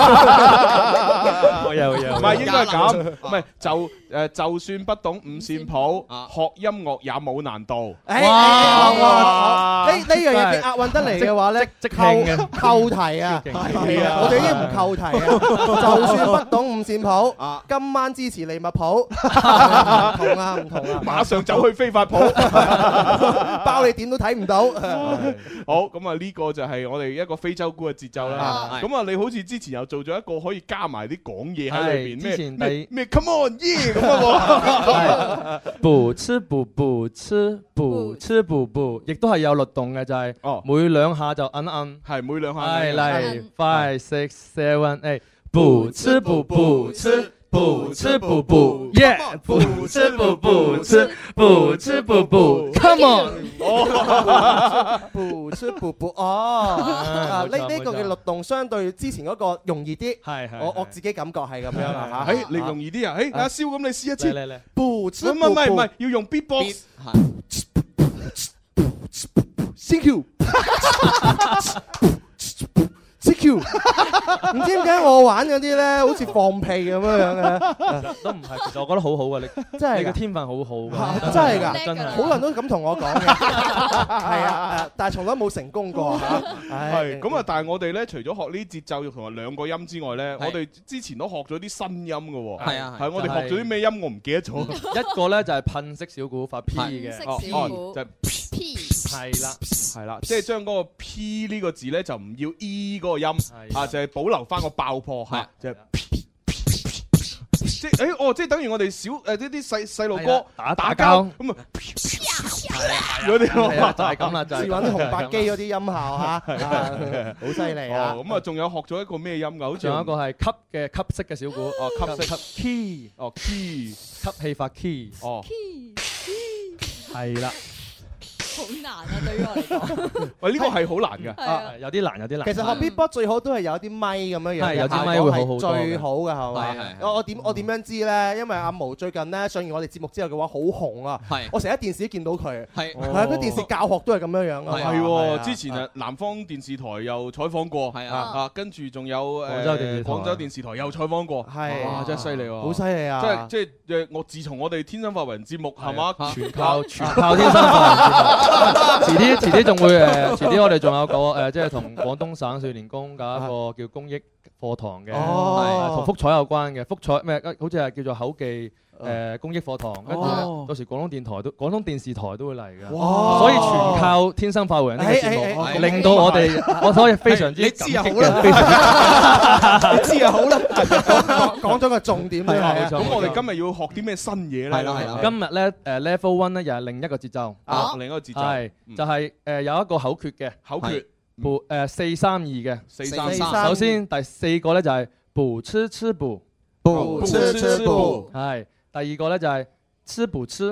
係應該係咁，唔係就算不懂五線譜，學音樂也冇難度。 哇！呢樣嘢嘅押韻得嚟嘅話咧， 即興嘅扣題啊！係啊，我哋已經唔扣題啊！就算不懂五線譜，今晚支持利物浦，唔同啊， 馬上走去非法譜， 包你點都睇唔到。 好，咁啊呢個就係我哋一個非洲鼓嘅節奏啦，咁啊你好似之前又做咗一個可以加埋啲講嘢喺裏邊，咩 Come on yeah 咁啊， 不吃不吃不吃不，亦都係有律動嘅，就係每兩下就摁， 係每兩下， 係嚟 5 6 7 8，不吃不吃。不吃不耶！不吃不吃不吃不 ，Come on！ 不吃不哦，呢個嘅律動相對之前嗰個容易啲， 係我自己感覺係咁樣啊嚇。 你容易啲啊？阿蕭咁你試一次。 嚟， 不吃唔係要用 beatbox。Thank you。CQ， 唔知點解我玩嗰啲咧，好似放屁咁樣嘅， 都唔係，其實我覺得好好啊，你真係你嘅天分好好㗎， 真係㗎， 真係好多人都咁同我講嘅，係啊，但係從來冇成功過嚇。 係咁啊，但係我哋咧，除咗學呢啲節奏同埋兩個音之外咧，我哋之前都學咗啲新音嘅喎。 係啊， 係我哋學咗啲咩音？我唔記得咗。 一個咧就係噴式小鼓發 P 嘅， 就係 P， 係啦，即係將嗰個 P 呢個字咧就唔要 E 嗰個音啊，就係保留翻個爆破嚇，就係 P， 即係即係等於我哋小呢啲細路哥打交咁啊， 嗰啲就係咁啦，就係試揾啲紅白機嗰啲音效嚇，好犀利啊！ 咁啊，仲有學咗一個咩音㗎？好似仲有一個係吸嘅吸式嘅小鼓， 吸式 key， key， 吸氣法 key， 係啦。 好難啊！對於我嚟講， 喂，呢個係好難㗎， 有啲難，有啲難。 其實學 beatbox 最好都係有啲咪咁樣樣， 係有啲咪會好好多， 最好嘅係嘛？我點樣知咧？因為阿毛最近咧上完我哋節目之後嘅話好紅啊！我成日喺電視都見到佢，係佢電視教學都係咁樣樣啊！ 係喎，之前啊南方電視台又採訪過，係啊，跟住仲有廣州電視台又採訪過， 係哇，真係犀利喎！ 好犀利啊！ 即係我自從我哋天生發人節目係嘛， 全靠天生發人節目。遲啲仲會遲啲我哋仲有個即係同廣東省少年宮搞一個叫公益課堂嘅，同福彩有關嘅，福彩咩？好似係叫做口技公益課堂，跟住到時廣東電視台都會嚟嘅，所以全靠天生快活人呢個節目，令到我所以非常之你知就好啦，你知就好啦，講咗個重點咧。 咁我哋今日要學啲咩新嘢咧？係啦， 今日咧Level 1咧又係另一個節奏， 另一個節奏係就係有一個口訣嘅口訣， 補4、3、2嘅 4、3。 首先第4個咧就係補吃吃補， 補吃吃補， 係。第二個咧就係吃補吃，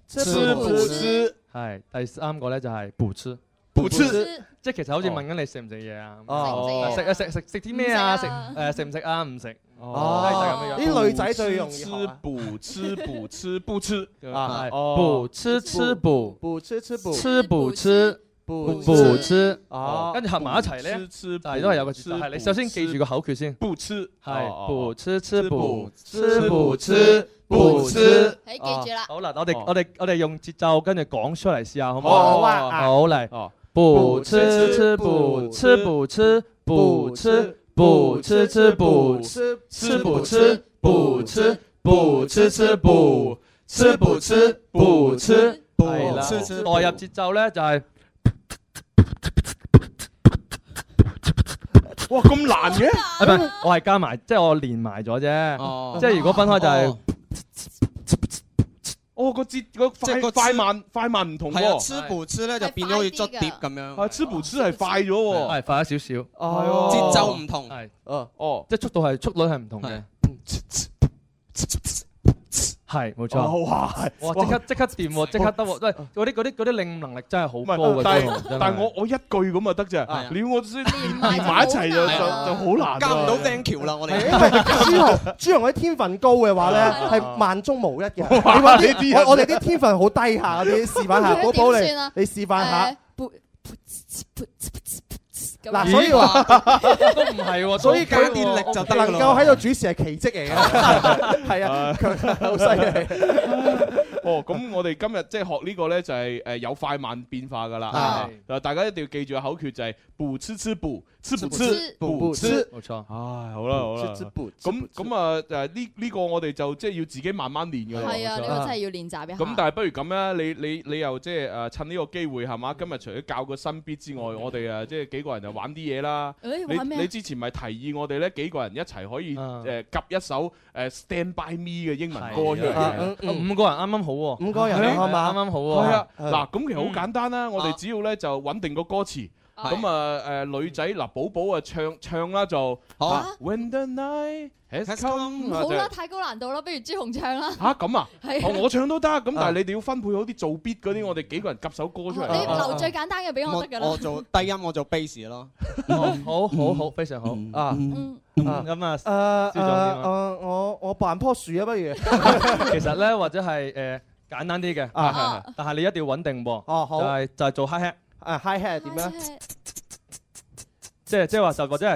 係。第3個咧就係補吃，即係其實好似問緊你食唔食嘢啊？食啲咩啊？食唔食啊？唔食。就係咁樣。 啲女仔最容易吃補吃不吃啊，補吃吃補， 補吃吃補， 吃補吃。補吃，跟住合埋一齊咧，但係都係有個節奏。係你首先記住個口訣先。 補吃係補吃吃補，吃補吃補吃。 你記住啦。 好啦，我哋用節奏跟住講出嚟試下，好唔好？ 好啊。 好嚟。補吃吃補，吃補吃補吃，補吃吃補，吃補吃補吃，補吃吃補，吃補吃補吃。係啦。代入節奏咧就係。 哇，咁難嘅？ 唔係，我係加埋，即係我連埋咗啫。即係如果分開就係， 個節個快慢唔同喎。 係啊，吃補吃咧就變咗好似捽碟咁樣。 係吃補吃係快咗喎， 係快咗少少。 節奏唔同。係。 即係速率係唔同嘅。係冇錯，哇！即刻掂喎，即刻得喎，喂！嗰啲領悟能力真係好高嘅， 但係我一句咁就得啫，你要我先連埋一齊就好難， 加唔到 thank you 啦，我哋。 朱紅啲天分高嘅話咧，係萬中無一嘅。我哋啲天分好低下嗰啲，示範下，寶寶你示範下。嗱，所以話都唔係喎， 所以佢電力就能夠喺度主持係奇蹟嚟嘅，係啊，佢好犀利。 咁我哋今日即係學呢個咧，就係有快慢變化噶啦。大家一定要記住個口訣就係補吃吃補，吃補吃補吃。 冇錯。 唉，好啦。咁啊呢個我哋就即係要自己慢慢練㗎啦。 係啊，呢個真係要練習一下。 咁但係不如咁啦，你又即係趁呢個機會係嘛？今日除咗教個新 beat 之外，我哋即係幾個人就玩啲嘢啦。你之前咪提議我哋咧幾個人一齊可以夾一首Stand By Me 嘅英文歌出嚟。 5個人啱啱好喎 ，5個人啱啱好喎。 係啊，嗱咁其實好簡單啦，我哋只要咧就穩定個歌詞。咁啊女仔嗱寶寶啊唱啦就 When the night has come。 好啦，太高難度啦，不如朱紅唱啦。 嚇咁啊？我唱都得，咁但係你哋要分配好啲做 beat 嗰啲，我哋幾個人夾首歌出嚟。 你留最簡單嘅俾我得㗎啦。 我做低音，我做 bass 咯。 好，非常好啊。咁啊， 我扮棵樹啊，不如。 其實咧，或者係簡單啲嘅，但係你一定要穩定喎。 好。 就係做 hi hat。 hi hat 點樣？ 即係話就或者係，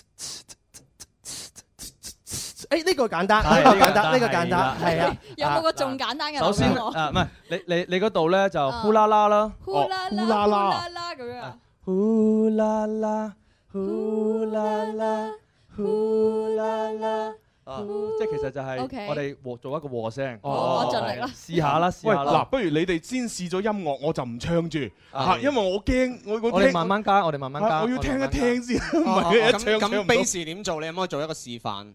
呢個簡單，呢個簡單，係啊。 有冇個仲簡單嘅？ 首先唔係你嗰度咧就呼啦啦啦， 呼啦啦咁樣。 呼啦啦，呼啦啦，呼啦啦。即係其實就係我哋做一個和聲。 我盡力啦。 試下啦。 喂，嗱，不如你哋先試咗音樂，我就唔唱住嚇，因為我驚我哋慢慢加，我要聽一聽先。唔係一唱咁 bass 點做？你可唔可以做一個示範？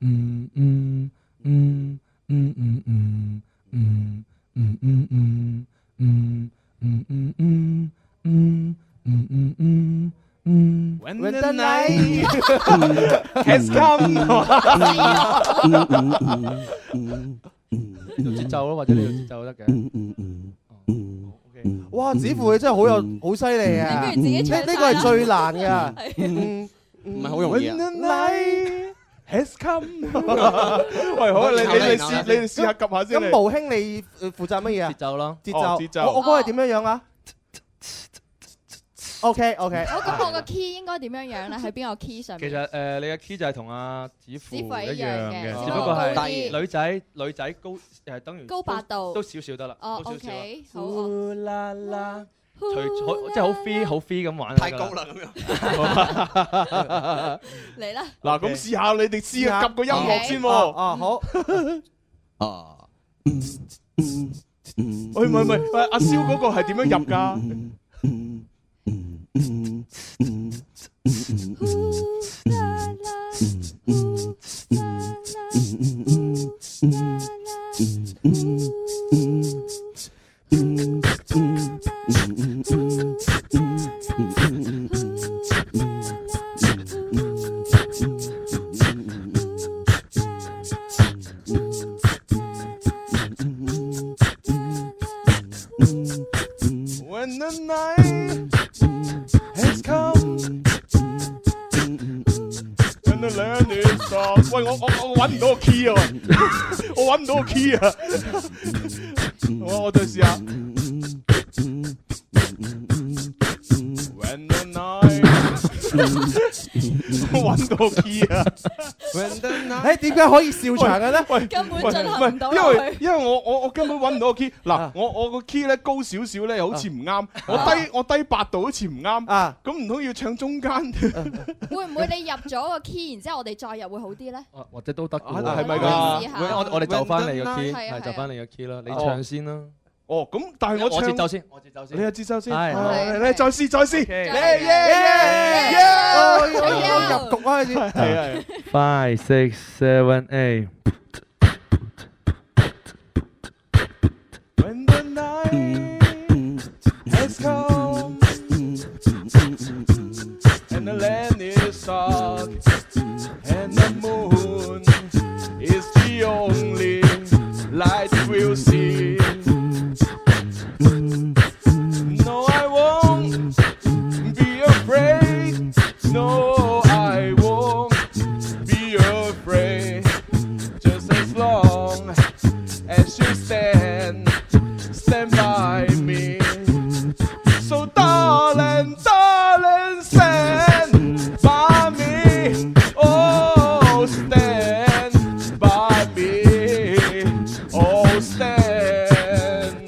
When the night has come， 節奏咯，或者呢個節奏都得嘅。 哇！子父你真係好犀利啊！呢個係最難㗎， 唔係好容易啊。 Has come， 喂，好，你哋試下及下先。 咁毛兄你負責乜嘢啊？ 節奏咯， 節奏。 我嗰個係點樣樣啊 ？OK。 咁我個 key 應該點樣樣咧？喺邊個 key 上面？ 其實你嘅 key 就係同阿子父一樣嘅， 只不過係女仔高係等於高8度， 都少少得啦。 哦 ，OK， 好。 即係好 free 咁玩， 太高啦咁樣。嚟啦！ 嗱，咁試下你哋試下夾個音樂先喎。 好。 喂，唔係，阿蕭嗰個係點樣入㗎？When the night has come and the land is soft。喂，我揾唔到個 key 啊！我揾唔到個 key 啊！我再試下。When the night， 我揾到個 key 啊！ 誒點解可以笑場嘅咧？ 喂， 根本進行唔到落去。 因為我根本揾唔到個 key。嗱，我個 key 咧高少少咧，又好似唔啱。我低8度好似唔啱。咁唔通要唱中間？ 會唔會你入咗個 key，然之後我哋再入會好啲咧？ 或者都得嘅喎。 係咪㗎？ 我哋就翻你個 key，係就翻你個 key 啦。你唱先啦。 哦，咁但係我節奏先， 你有節奏先， 係， 你再試， 我入局開始， 係。 5, 6, 7, 8。 When the night has come and the land is soft and the moon is the only light we'll see. No, I won't be afraid. No, I won't be afraid. Just as long as you stand by me. So darling, stand by me. Oh, stand by me. Oh, stand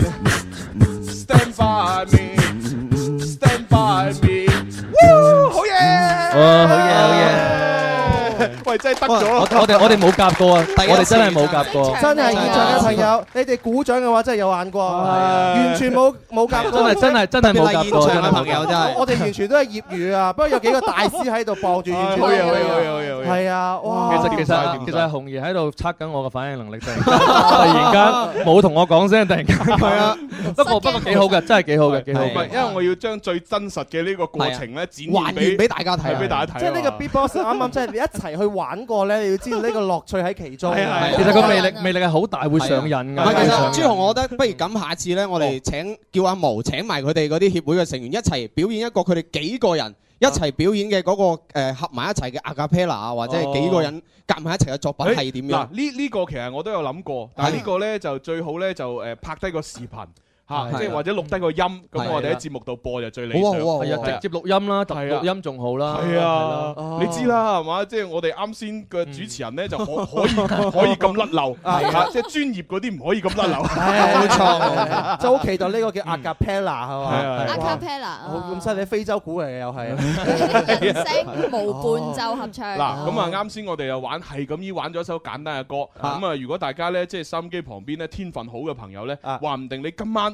by me. Stand by me. Woo! 好嘢！ 好嘢！ 喂，真係得咗！ 我哋冇夾過啊！我哋真係冇夾過。 真係現場嘅朋友，你哋鼓掌嘅話真係有眼光，完全冇夾過。 真係冇夾過。 現場嘅朋友真係， 我哋完全都係業餘啊！不過有幾個大師喺度傍住完全。 好嘢！ 係啊！哇！ 其實係紅爺喺度測緊我嘅反應能力，突然間冇同我講聲，突然間係啊！不過幾好嘅，真係幾好嘅，幾好。 因為我要將最真實嘅呢個過程咧展還原俾大家睇， 即係呢個 Beatbox 啱啱即係你一齊去玩過咧，你要知道呢個樂趣喺其中。 其實個魅力係好大，會上癮㗎。 其實朱紅，我覺得不如咁，下次咧，我哋叫阿毛請埋佢哋嗰啲協會嘅成員一齊表演一個佢哋幾個人一齊表演嘅嗰個合埋一齊嘅 acapella 啊，或者係幾個人夾埋一齊嘅作品係點樣？ 嗱，呢個其實我都有諗過，但係呢個咧就最好咧就拍低個視頻。嚇，即係或者錄低個音，咁我哋喺節目度播就最理想。 係啊，直接錄音啦，錄音仲好啦。 係啊，你知啦，係嘛？即係我哋啱先嘅主持人咧，就可以咁甩漏，即係專業嗰啲唔可以咁甩漏。 冇錯，就好期待呢個叫 acapella 係嘛 ？acapella 咁犀利，非洲鼓嚟嘅又係。 聲無伴奏合唱。 嗱，咁啊啱先我哋又玩係咁依玩咗一首簡單嘅歌，咁啊如果大家咧即係收音機旁邊咧天分好嘅朋友咧，話唔定你今晚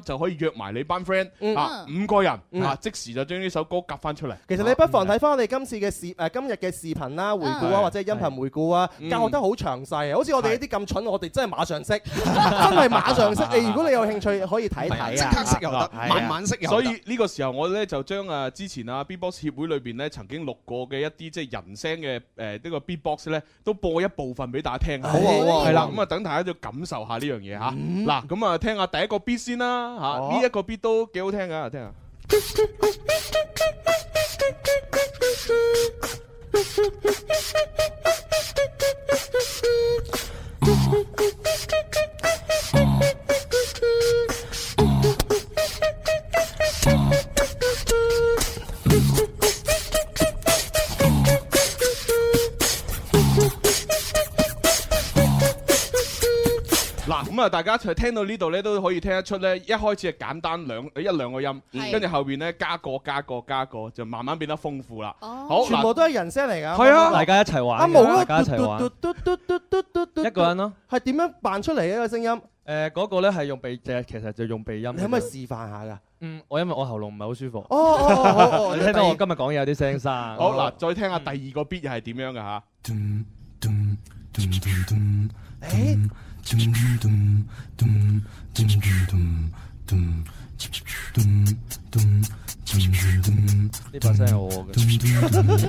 就可以約埋你班 friend 5個人即時就將呢首歌夾翻出嚟。 其實你不妨睇翻我哋今日嘅視頻啦、回顧啊，或者音頻回顧啊，教得好詳細。好似我哋呢啲咁蠢，我哋真係馬上識，真係馬上識。如果你有興趣，可以睇睇啊， 即刻識又得，慢慢識又得。 所以呢個時候我咧就將之前B-box 協會裏邊咧曾經錄過嘅一啲即係人聲嘅呢個 B-box 咧，都播一部分俾大家聽下。好啊，係啦，咁等大家就感受下呢樣嘢嚇。嗱，咁聽下第一個 beat 先啦嚇，呢一個 beat 都幾好聽㗎，聽下。嗱，咁大家一齊聽到呢度咧，都可以聽得出咧，一開始係簡單一兩個音，跟住後邊咧加個，就慢慢變得豐富啦。好， 全部都係人聲嚟㗎。 係啊，大家一齊玩。大家一齊玩。一個人咯。 係點樣扮出嚟嘅個聲音？ 嗰個咧係用鼻，其實就用鼻音。 你可唔可以示範下㗎？ 因為我喉嚨唔係好舒服。 好。 你聽到我今日講嘢有啲聲沙。 好嗱，再聽下第二個 beat 又係點樣㗎嚇？ 呢把聲係我嘅。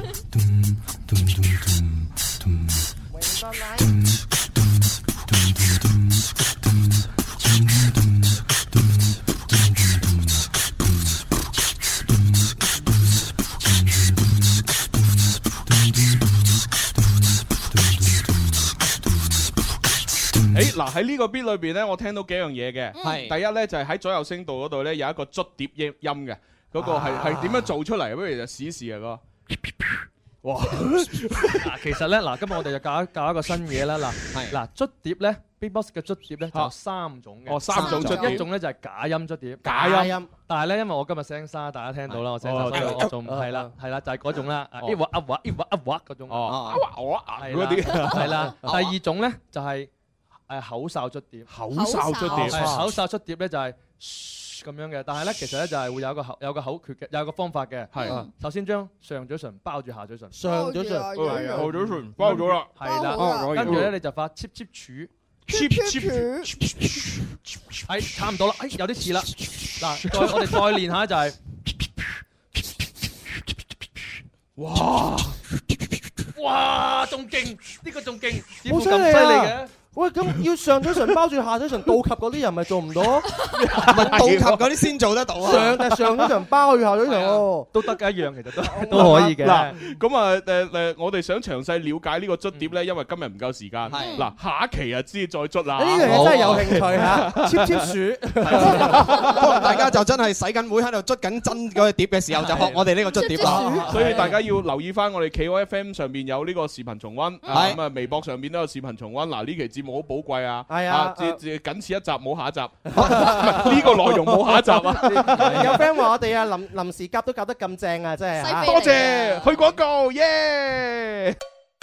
嗱喺呢個 beat 裏邊咧，我聽到幾樣嘢嘅。第一咧就係喺左右聲道嗰度咧有一個捽碟音嘅，嗰個係點樣做出嚟？不如就試一試啊個。哇！ 其實咧嗱，今日我哋就教一個新嘢啦。嗱捽碟咧 ，B-box 嘅捽碟咧就有3種嘅。 3種捽碟。 一種咧就係假音捽碟。 假音。 但係咧，因為我今日聲沙，大家聽到啦，我聲沙，所以我仲係啦，就係嗰種啦。一畫嗰種。 嗰啲。 係啦。第二種咧就係口哨捽碟。 口哨捽碟。 口哨捽碟咧就係咁樣嘅，但係咧其實咧就係會有個口訣嘅，有個方法嘅。係。首先將上嘴唇包住下嘴唇。 上嘴唇。 下嘴唇包咗啦。 係啦。跟住咧你就發 cheap cheap 柱。係差唔多啦，有啲似啦。嗱，我哋再練下就係。哇！仲勁，呢個仲勁， 好犀利嘅。喂，咁要上嘴唇包住下嘴唇倒及嗰啲人咪做唔到？ 倒及嗰啲先做得到啊！ 上嘴唇包住下嘴唇喎， 都得嘅一樣，其實都可以嘅。 嗱，咁我哋想詳細了解呢個捽碟咧，因為今日唔夠時間。嗱，下一期啊知再捽啦。 呢樣嘢真係有興趣嚇，切切鼠。 可能大家就真係洗緊會喺度捽緊真嗰個碟嘅時候，就學我哋呢個捽碟啦。 所以大家要留意翻我哋 KOFM 上邊有呢個視頻重溫，咁啊微博上邊都有視頻重溫。嗱，呢期節目好寶貴啊！ 係啊， 僅此一集冇下一集，呢個內容冇下一集啊！ 有 friend 話我哋啊臨時夾都夾得咁正啊，真係多謝去廣告耶！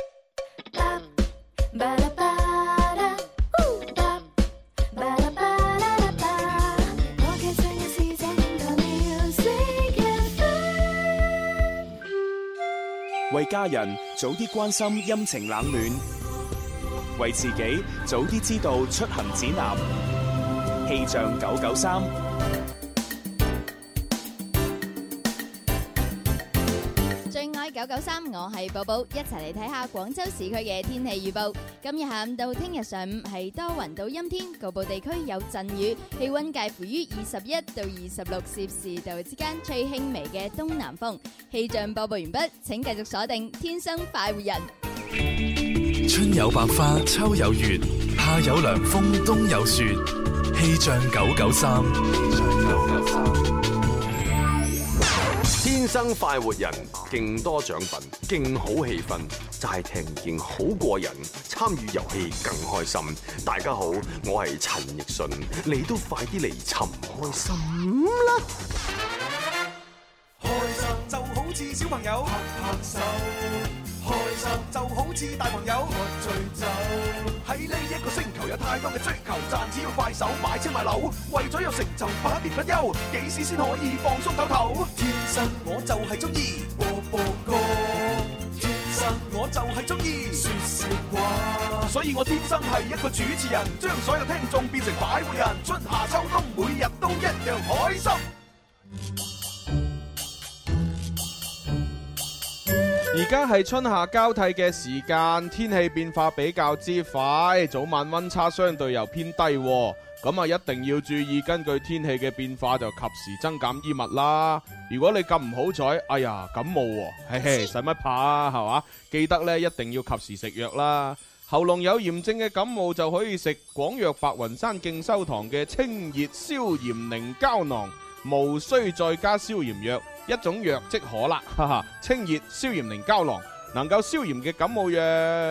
為家人早啲關心陰晴冷暖，為自己早啲知道出行指南。氣象993， 最愛993，我係寶寶，一齊嚟睇下廣州市區嘅天氣預報。今日下午到聽日上午係多雲到陰天，局部地區有陣雨，氣溫介乎於21到26攝氏度之間，吹輕微嘅東南風。氣象播報完畢，請繼續鎖定天生快活人。 春有百花，秋有月，夏有涼風，冬有雪。氣象993， 天生快活人，勁多獎品，勁好氣氛，齋聽已經好過癮，參與遊戲更開心。大家好，我係陳奕迅，你都快啲嚟尋開心啦！ 開心就好似小朋友拍拍手。 開心就好似大朋友喝醉酒。喺呢一個星球有太多嘅追求，賺錢要快手買車買樓，為咗有成就百年不休，幾時先可以放鬆唞唞？天生我就係中意播播歌，天生我就係中意說笑話，所以我天生係一個主持人，將所有聽眾變成擺渡人，春夏秋冬每日都一樣開心。 而家係春夏交替嘅時間，天氣變化比較之快，早晚溫差相對又偏低，咁啊一定要注意，根據天氣嘅變化就及時增減衣物啦。如果你咁唔好彩，哎呀感冒喎，嘿嘿，使乜怕啊，係嘛？記得咧一定要及時食藥啦。喉嚨有炎症嘅感冒就可以食廣藥白雲山敬修堂嘅清熱消炎寧膠囊，無需再加消炎藥。一種藥即可啦，哈哈！清熱消炎寧膠囊能夠消炎嘅感冒藥。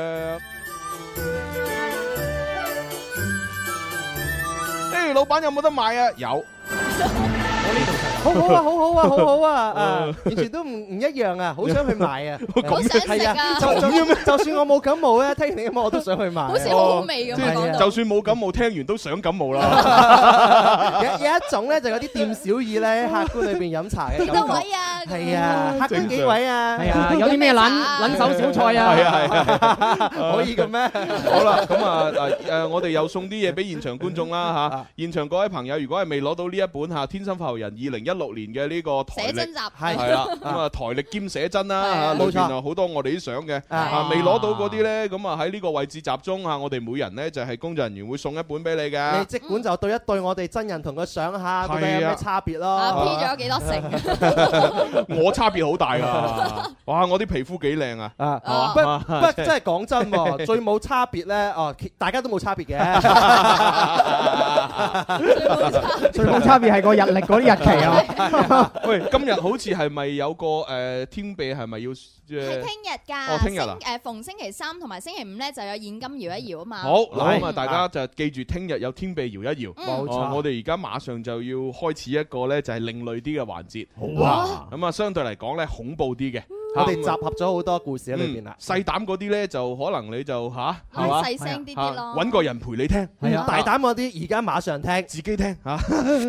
誒，老闆有冇得買啊？有。 好好啊，好好啊，好好啊！完全都唔一樣啊，好想去買啊！ 好想食啊！ 就算我冇感冒咧，聽完你咁我都想去買。 好似好好味咁講到。 就算冇感冒，聽完都想感冒啦。 有一種咧，就有啲店小二咧，客官裏邊飲茶嘅。 幾多位啊？ 係啊，客官幾位啊？ 係啊，有啲咩撚手小菜啊？ 係啊， 可以嘅咩？ 好啦，咁啊我哋又送啲嘢俾現場觀眾啦嚇。現場各位朋友，如果係未攞到呢一本嚇《天生發育人2016年嘅呢個台歷》， 寫真集係啦，咁啊台歷兼寫真啦，裏邊啊好多我哋啲相嘅，未攞到嗰啲咧，咁啊喺呢個位置集中嚇，我哋每人咧就係工作人員會送一本俾你嘅。 你即管就對一對我哋真人同個相下，到底有咩差別咯 ？P 咗幾多成？ 我差別好大㗎！哇，我啲皮膚幾靚啊！ 係嘛？不真係講真喎，最冇差別咧，大家都冇差別嘅。 最冇差別係個日曆嗰啲日期啊！ 喂，今日好似係咪有個天臂係咪要？ 係聽日㗎。 哦，聽日啊！ 逢星期三同埋星期五咧就有現金搖一搖啊嘛。 好，嗱咁啊，大家就記住聽日有天臂搖一搖。冇錯。我哋而家馬上就要開始一個咧，就係另類啲嘅環節。好啊！咁啊，相對嚟講咧，恐怖啲嘅。 我哋集合咗好多故事喺裏邊啦。 細膽嗰啲咧，就可能你就係嘛？ 細聲啲啲咯。 揾個人陪你聽。 係啊。大膽嗰啲，而家馬上聽， 自己聽嚇。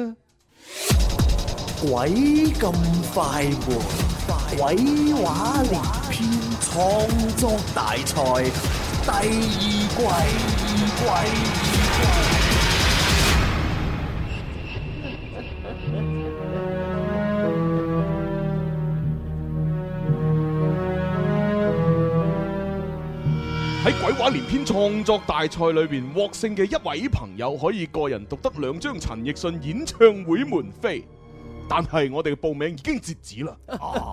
鬼咁快活，鬼話連篇創作大賽第二季。 喺鬼話連篇創作大賽裏邊獲勝嘅一位朋友，可以個人獨得2張陳奕迅演唱會門飛。但係我哋嘅報名已經截止啦。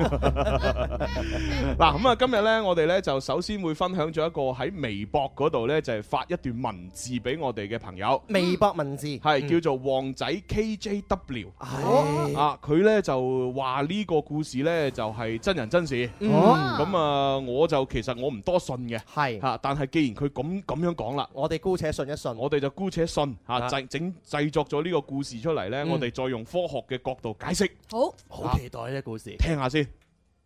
嗱咁啊，今日呢，我哋呢就首先會分享咗一個喺微博嗰度呢，就係發一段文字俾我哋嘅朋友。 微博文字係叫做旺仔 KJW。啊，佢呢就話呢個故事呢就係真人真事。咁啊，我就其實我唔多信嘅。係嚇，但係既然佢咁樣講啦， 我哋姑且信一信。 我哋就姑且信嚇，製作咗呢個故事出嚟呢，我哋再用科學嘅角度解釋。 好期待呢個故事， 聽下先。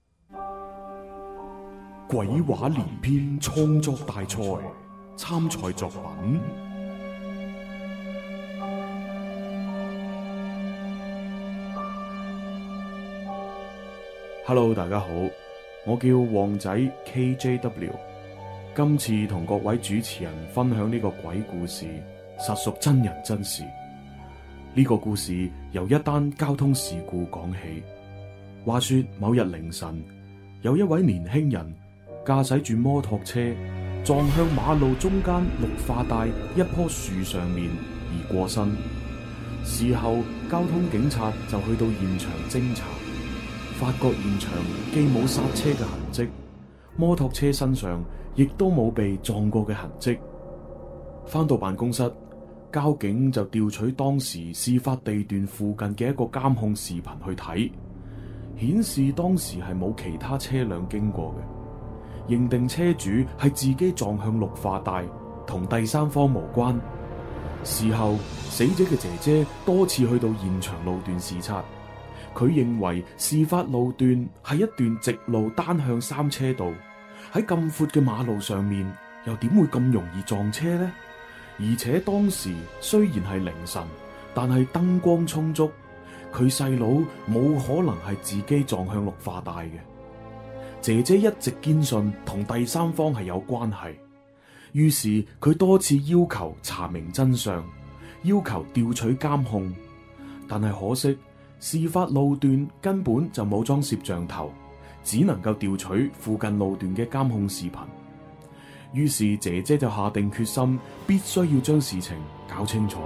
鬼話連篇創作大賽參賽作品。Hello， 大家好，我叫旺仔 KJW， 今次同各位主持人分享呢個鬼故事，實屬真人真事。呢個故事由一單交通事故講起。話說某日凌晨，有一位年輕人駕駛住摩托車撞向馬路中間綠化帶一棵樹上面而過身。事後交通警察就去到現場偵查，發覺現場既冇剎車嘅痕跡，摩托車身上亦都冇被撞過嘅痕跡。返到辦公室，交警就調取當時事發地段附近嘅一個監控視頻去睇，顯示當時係冇其他車輛經過嘅，認定車主係自己撞向綠化帶，同第三方無關。事後死者嘅姐姐多次去到現場路段視察，佢認為事發路段係一段直路單向3車道， 喺咁闊嘅馬路上面，又點會咁容易撞車呢？而且當時雖然係凌晨，但係燈光充足，佢細佬冇可能係自己撞向綠化帶嘅。姐姐一直堅信同第三方係有關係，於是佢多次要求查明真相，要求調取監控，但係可惜事發路段根本就冇裝攝像頭，只能夠調取附近路段嘅監控視頻。於是姐姐就下定決心，必須要將事情搞清楚。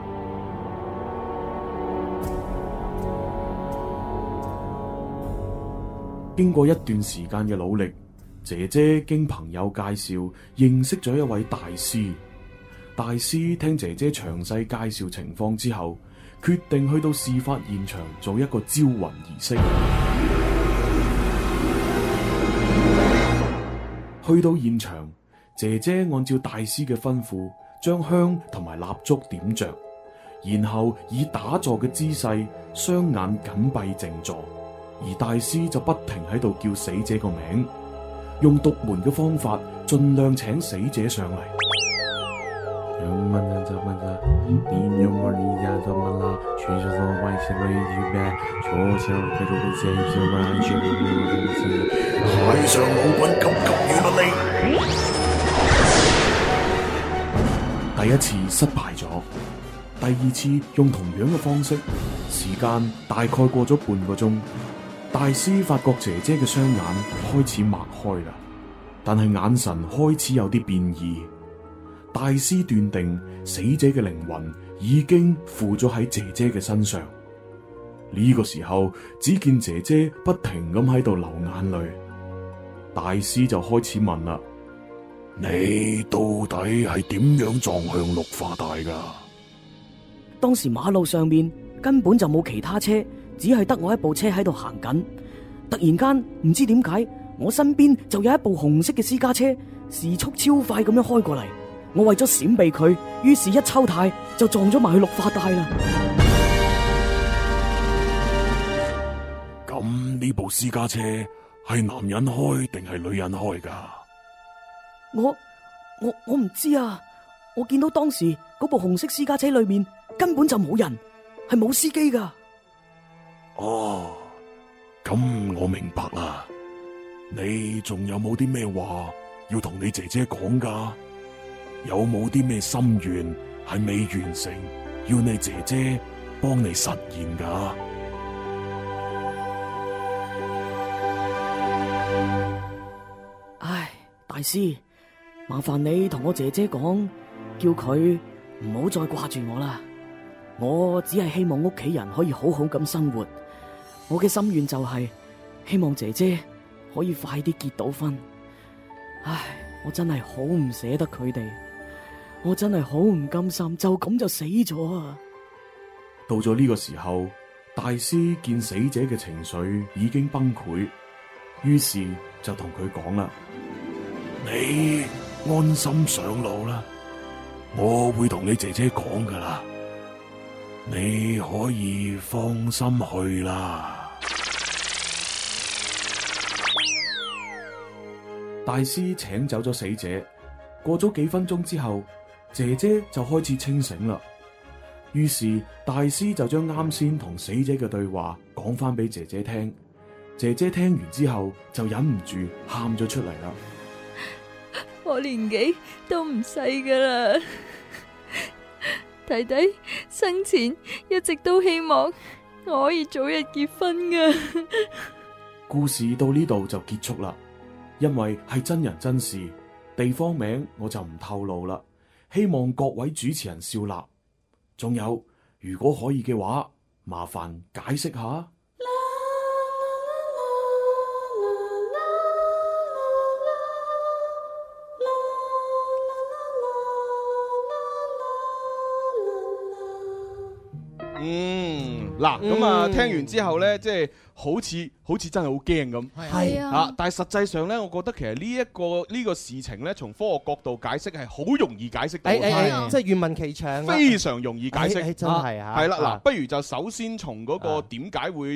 經過一段時間嘅努力，姐姐經朋友介紹認識咗一位大師。大師聽姐姐詳細介紹情況之後，決定去到事發現場做一個招魂儀式。去到現場，姐姐按照大師嘅吩咐，將香同埋蠟燭點着，然後以打坐嘅姿勢，雙眼緊閉靜坐，而大師就不停喺度叫死者個名，用獨門嘅方法，盡量請死者上嚟。 海上老滾急急與不離。 第一次失敗咗，第二次用同樣嘅方式，時間大概過咗半個鐘，大師發覺姐姐嘅雙眼開始擘開啦，但係眼神開始有啲變異。大師斷定死者嘅靈魂已經附咗喺姐姐嘅身上。呢個時候，只見姐姐不停咁喺度流眼淚。大師就開始問啦： 你到底係點樣撞向綠化帶㗎？ 當時馬路上面根本就冇其他車，只係得我一部車喺度行緊。突然間唔知點解，我身邊就有一部紅色嘅私家車，時速超快咁樣開過嚟。我為咗閃避佢，於是一抽軚就撞咗埋去綠化帶啦。 咁呢部私家車係男人開定係女人開㗎？ 我唔知啊！我見到當時嗰部紅色私家車裏面根本就冇人，係冇司機㗎。 哦，咁我明白啦。你仲有冇啲咩話要同你姐姐講㗎？有冇啲咩心願係未完成，要你姐姐幫你實現㗎？ 唉，大師，麻煩你同我姐姐講，叫佢唔好再掛住我啦。我只係希望屋企人可以好好咁生活。我嘅心願就係希望姐姐可以快啲結到婚。唉，我真係好唔捨得佢哋。我真係好唔甘心，就咁就死咗啊！ 到咗呢個時候，大師見死者嘅情緒已經崩潰，於是就同佢講啦： 你安心上路啦，我會同你姐姐講噶啦，你可以放心去啦。 大師請走咗死者，過咗幾分鐘之後，姐姐就開始清醒啦。於是大師就將啱先同死者嘅對話講翻俾姐姐聽。姐姐聽完之後就忍唔住喊咗出嚟啦。 我年紀都唔細噶啦，弟弟生前一直都希望我可以早日結婚噶。 故事到呢度就結束啦，因為係真人真事，地方名我就唔透露啦。希望各位主持人笑納，仲有如果可以嘅話，麻煩解釋下。 嗱，咁啊，聽完之後咧，即係好似真係好驚咁。 係啊，但係實際上咧，我覺得其實呢個事情咧，從科學角度解釋係好容易解釋到。 即係願聞其詳， 非常容易解釋。 真係啊！ 係啦，嗱，不如就首先從嗰個點解會出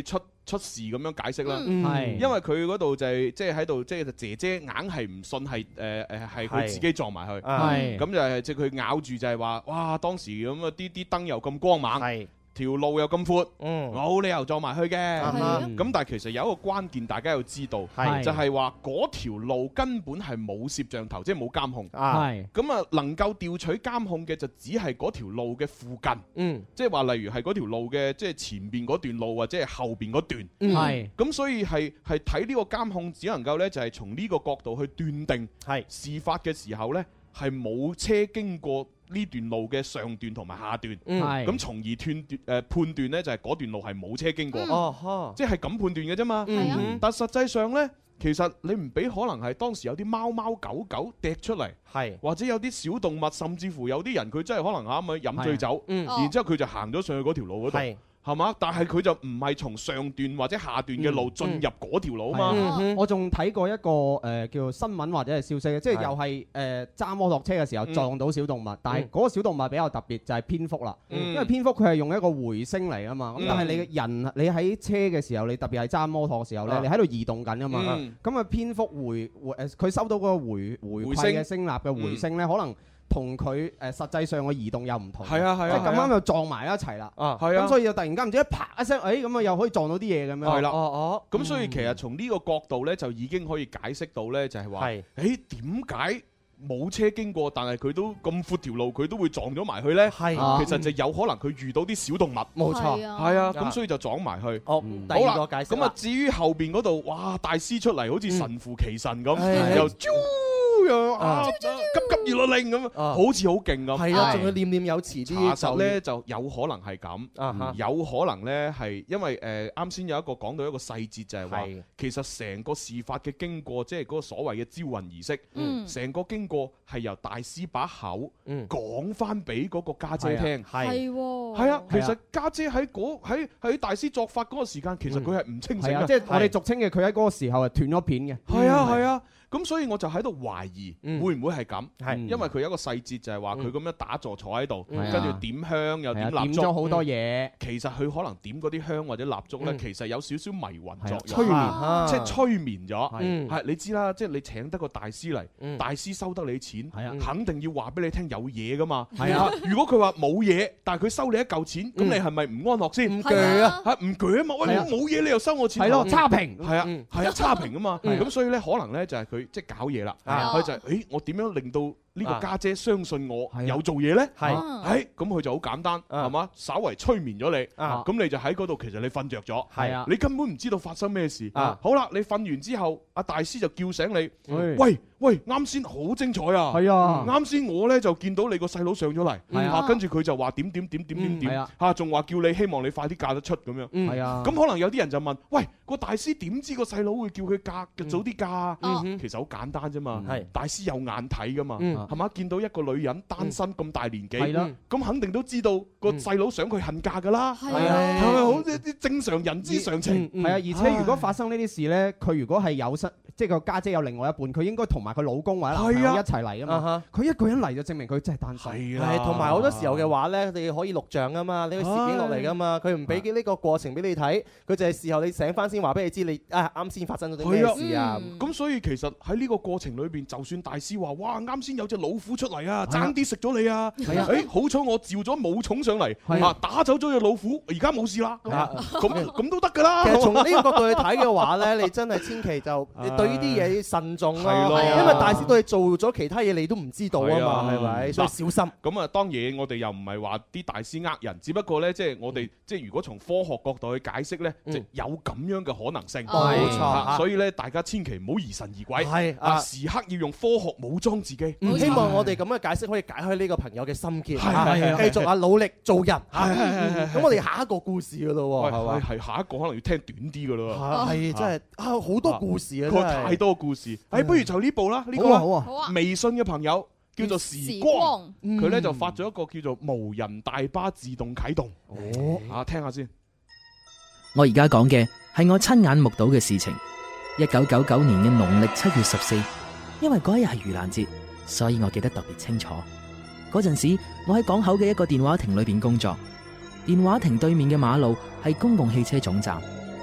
出事咁樣解釋啦。 係因為佢嗰度就係即係喺度，即係姐姐硬係唔信係係佢自己撞埋去。咁就係即係佢咬住就係話，哇！當時咁啊啲燈又咁光猛。條路又咁闊，冇理由撞埋去嘅。咁但係其實有一個關鍵，大家要知道，就係話嗰條路根本係冇攝像頭，即係冇監控。咁啊，能夠調取監控嘅就只係嗰條路嘅附近。即係話例如係嗰條路嘅即係前邊嗰段路或者係後邊嗰段。咁所以係睇呢個監控，只能夠呢就係從呢個角度去斷定事發嘅時候呢係冇車經過呢段路嘅上段同埋下段，咁從而判斷呢就係嗰段路係冇車經過，即係咁判斷嘅啫嘛。但實際上呢，其實你唔俾可能係當時有啲貓貓狗狗趯出嚟，或者有啲小動物，甚至乎有啲人佢真係可能啱啱飲醉酒，然之後佢就行咗上去嗰條路嗰度。係嘛？但係佢就唔係從上段或者下段嘅路進入嗰條路啊嘛。 我仲睇過一個叫做新聞或者係消息，即係又係揸摩托車嘅時候撞到小動物，但係嗰個小動物比較特別，就係蝙蝠啦。因為蝙蝠佢係用一個回聲嚟啊嘛。咁但係你嘅人，你喺車嘅時候，你特別係揸摩托嘅時候咧，你喺度移動緊啊嘛。咁啊蝙蝠佢收到嗰個回饋嘅聲納嘅回聲咧，可能同佢實際上嘅移動又唔同，即係咁啱又撞埋一齊啦。咁所以就突然間唔知一啪一聲，咁啊又可以撞到啲嘢咁樣。 係啦，咁所以其實從呢個角度咧，就已經可以解釋到咧，就係話，點解冇車經過，但係佢都咁闊條路，佢都會撞咗埋去咧？其實就有可能佢遇到啲小動物。冇錯，係啊，咁所以就撞埋去。 好啦，咁啊至於後邊嗰度，哇，大師出嚟好似神乎其神咁，又急急如律令咁，好似好勁咁。 係啊，仲要念念有詞啲。 查實咧就有可能係咁，有可能咧係因為啱先有一個講到一個細節，就係話其實成個事發嘅經過，即係嗰個所謂嘅招魂儀式，成個經過係由大師把口講翻俾嗰個家姐聽。係啊，其實家姐喺大師作法嗰個時間，其實佢係唔清醒嘅。 即係我哋俗稱嘅，佢喺嗰個時候係斷咗片嘅。 係啊。咁所以我就喺度懷疑，會唔會係咁？因為佢有一個細節就係話佢咁樣打坐坐喺度，跟住點香又點蠟燭， 點咗好多嘢。 其實佢可能點嗰啲香或者蠟燭咧，其實有少少迷魂作用， 催眠， 即係催眠咗。係你知啦，即係你請得個大師嚟，大師收得你錢，肯定要話俾你聽有嘢噶嘛。如果佢話冇嘢，但係佢收你一嚿錢，咁你係咪唔安樂先？唔鋸啊！唔鋸啊嘛！喂，冇嘢你又收我錢？ 係咯，差評。 係啊，差評啊嘛。咁所以咧，可能咧就係佢即係搞嘢啦。佢就係，我點樣令到呢個家姐相信我有做嘢呢？咁佢就好簡單，係嘛？稍為催眠咗你，咁你就喺嗰度，其實你瞓着咗，你根本唔知道發生咩事。好啦，你瞓完之後，阿大師就叫醒你，喂，啱先好精彩啊！啱先我呢就見到你個細佬上咗嚟，跟住佢就話點，仲話叫你希望你快啲嫁得出咁樣。咁可能有啲人就問，喂，個大師點知個細佬會叫佢早啲嫁？其實好簡單啫嘛，大師有眼睇噶嘛。係嘛？見到一個女人單身咁大年紀，咁肯定都知道個細佬想佢恨嫁噶啦。係咪好啲正常人之常情？ 係啊，而且如果發生呢啲事咧，佢如果係有即係個家姐有另外一半，佢應該同埋佢老公或者男朋友一齊嚟啊嘛。佢一個人嚟就證明佢真係單身。 係同埋好多時候嘅話咧，你可以錄像啊嘛，你可以攝影落嚟噶嘛。佢唔俾呢個過程俾你睇，佢就係事後你醒翻先話俾你知，你啱先發生咗啲咩事啊。 咁所以其實喺呢個過程裏邊，就算大師話哇啱先有隻老虎出嚟啊，爭啲食咗你啊！好彩我召咗武松上嚟，打走咗隻老虎，而家冇事啦。咁都得㗎啦。 其實從呢個角度去睇嘅話咧，你真係千祈就對呢啲嘢慎重咯。因為大師對你做咗其他嘢，你都唔知道啊嘛，係咪？所以小心。 咁啊，當然我哋又唔係話啲大師呃人，只不過咧，即係我哋即係如果從科學角度去解釋咧，即係有咁樣嘅可能性。 冇錯。 所以咧，大家千祈唔好疑神疑鬼，時刻要用科學武裝自己。 希望我哋咁嘅解釋可以解開呢個朋友嘅心結，繼續努力做人。咁我哋下一個故事噶咯，係嘛？ 係下一個可能要聽短啲噶咯。 係真係好多故事啊！ 太多故事。不如就呢部啦，呢個好啊。微信嘅朋友叫做時光，佢咧就發咗一個叫做無人大巴自動啟動。聽下先。 我而家講嘅係我親眼目睹嘅事情。1999年嘅農曆7月14，因為嗰一日係盂蘭節，所以我記得特別清楚。嗰陣時，我喺港口嘅一個電話亭裏邊工作。電話亭對面嘅馬路係公共汽車總站，而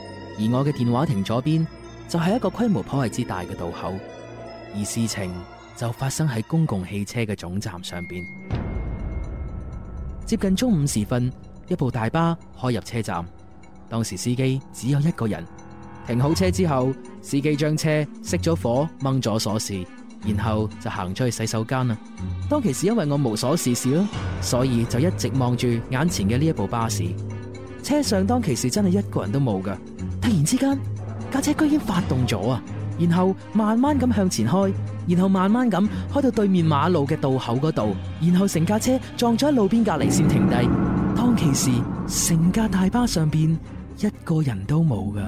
而我嘅電話亭左邊就係一個規模頗為之大嘅道口，而事情就發生喺公共汽車嘅總站上邊。接近中午時分，一部大巴開入車站，當時司機只有一個人。停好車之後，司機將車熄咗火，掹咗鎖匙，然後就行咗去洗手間啦。當其時因為我無所事事啦，所以就一直望住眼前嘅呢一部巴士。車上當其時真係一個人都冇噶。突然之間，架車居然發動咗啊！然後慢慢咁向前開，然後慢慢咁開到對面馬路嘅道口嗰度，然後成架車撞咗喺路邊隔籬先停低。當其時，成架大巴上邊一個人都冇噶。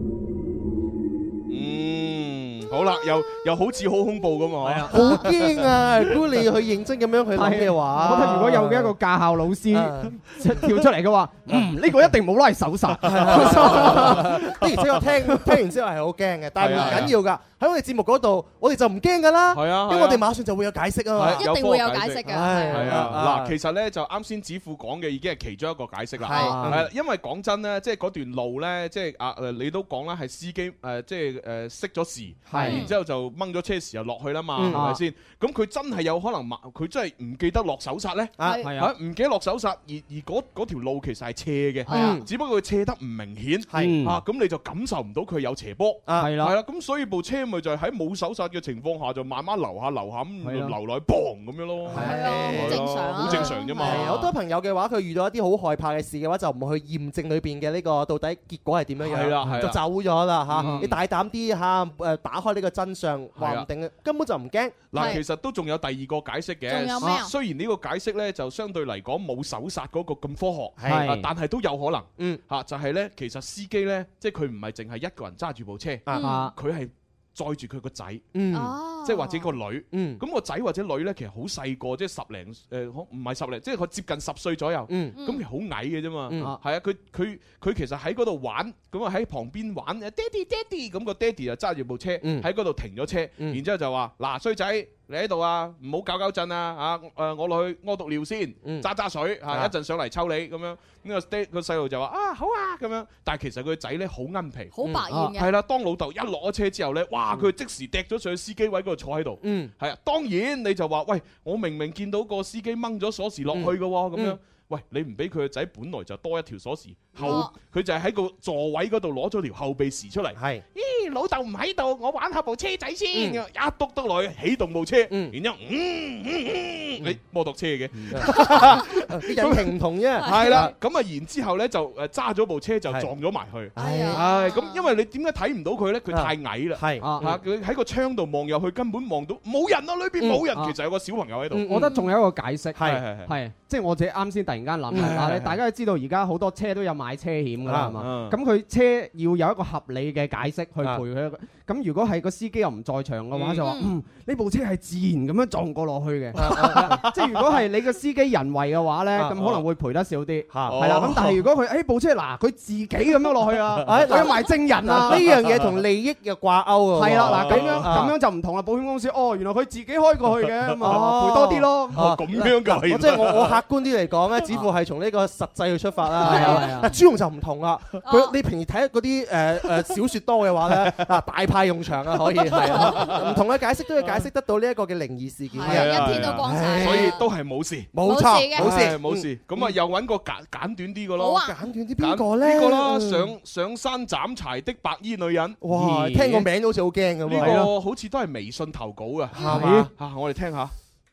好啦，又好似好恐怖咁啊！ 好驚啊！如果你去認真咁樣去諗嘅話， 我覺得如果有一個駕校老師跳出嚟嘅話，呢個一定冇拉手剎。 的而且確聽完之後係好驚嘅，但係唔緊要㗎。喺我哋節目嗰度，我哋就唔驚㗎啦。係啊，因為我哋馬上就會有解釋啊嘛。 一定會有解釋㗎。 係啊，嗱，其實咧就啱先子富講嘅已經係其中一個解釋啦。係，因為講真咧，即係嗰段路咧，即係你都講啦，係司機即係熄咗匙，然之後就掹咗車匙又落去啦嘛，係咪先？咁佢真係有可能佢真係唔記得落手剎咧？係啊，唔記得落手剎，而嗰條路其實係斜嘅，只不過佢斜得唔明顯，咁你就感受唔到佢有斜坡，係啦，咁所以部車咪就係喺冇手剎嘅情況下就慢慢流下咁流落去砰咁樣咯， 係啊，好正常， 好正常啫嘛。 好多朋友嘅話，佢遇到一啲好害怕嘅事嘅話，就唔去驗證裏邊嘅呢個到底結果係點樣樣，就走咗啦嚇。你大膽啲嚇，打開呢個真相，話唔定根本就唔驚。 嗱，其實都仲有第二個解釋嘅。仲有咩啊？雖然呢個解釋咧就相對嚟講冇手剎嗰個咁科學，但係都有可能。嚇，就係咧，其實司機咧，即係佢唔係淨係一個人揸住部車，佢係載住佢個仔，即係或者個女。咁個仔或者女咧，其實好細個，即係10零唔係10零，即係佢接近10歲左右。咁其實好矮嘅啫嘛。係啊，佢其實喺嗰度玩，咁啊喺旁邊玩，爹哋咁個爹哋就揸住部車喺嗰度停咗車，然之後就話：嗱，衰仔，你喺度啊，唔好搞震啊！我落去屙督尿先，揸水嚇，一陣上嚟抽你咁樣。呢個細路就話：啊，好啊咁樣。但係其實佢個仔咧好奀皮，好百厭嘅。係啦，當老豆一落咗車之後咧，哇！佢即時掟咗上去司機位嗰度坐喺度。係啊，當然你就話：喂，我明明見到個司機掹咗鎖匙落去嘅喎，咁樣。喂，你唔俾佢個仔，本來就多一條鎖匙，佢就係喺個座位嗰度攞咗條後備匙出嚟。係，咦，老豆唔喺度，我玩下部車仔先，一篤得落去，起動部車，然之後，你摩托車嘅， 引擎唔同啫。 係啦，咁啊，然之後咧就揸咗部車就撞咗埋去。係咁因為你點解睇唔到佢咧？佢太矮啦。係佢喺個窗度望入去，根本望到冇人啊，裏邊冇人，其實有個小朋友喺度。 我覺得仲有一個解釋，係即係我自己啱先突然間諗下，大家都知道而家好多車都有買車險㗎啦，係嘛？咁佢車要有一個合理嘅解釋去賠佢。咁如果係個司機又唔在場嘅話，就話呢部車係自然咁樣撞過落去嘅。即係如果係你個司機人為嘅話咧，咁可能會賠得少啲。係啦，咁但係如果佢部車嗱佢自己咁樣落去啊，佢有埋證人啊， 呢樣嘢同利益嘅掛鈎啊。 係啦，嗱咁樣就唔同啦。保險公司原來佢自己開過去嘅，咁賠多啲咯。 咁樣㗎， 即係我客觀啲嚟講咧，似乎係從呢個實際去出發啦。係啊，朱紅就唔同啦。你平時睇嗰啲小説多嘅話咧，大派用場啊，可以係啊，唔同嘅解釋都要解釋得到呢一個嘅靈異事件。 係一天都光晒， 所以都係冇事， 冇錯， 冇事。咁啊，又揾個簡短啲嘅咯。 好啊， 簡短啲邊個咧？ 呢個啦，上山斬柴的白衣女人。 哇，聽個名都好似好驚咁。 呢個好似都係微信投稿嘅，係嘛？我哋聽下。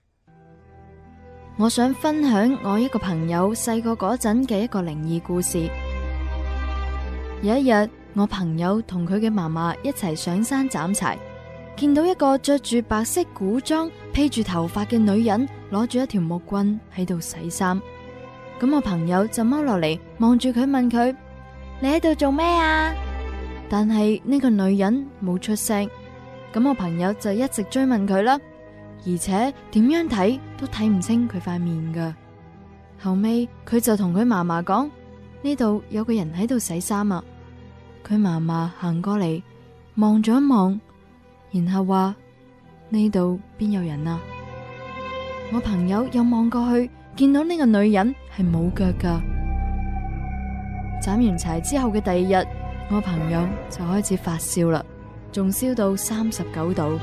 我想分享我一個朋友細個嗰陣嘅一個靈異故事。有一日，我朋友同佢嘅嫲嫲一齊上山斬柴，見到一個着住白色古裝、披住頭髮嘅女人，攞住一條木棍喺度洗衫。咁我朋友就踎落嚟望住佢，問佢：你喺度做咩啊？但係呢個女人冇出聲。咁我朋友就一直追問佢啦。而且點樣睇都睇唔清佢塊面噶。後尾佢就同佢嫲嫲講：呢度有個人喺度洗衫啊。佢嫲嫲行過嚟望咗一望，然後話：呢度邊有人啊？我朋友又望過去，見到呢個女人係冇腳噶。斬完柴之後嘅第二日， 我朋友就開始發燒啦，仲燒到39度。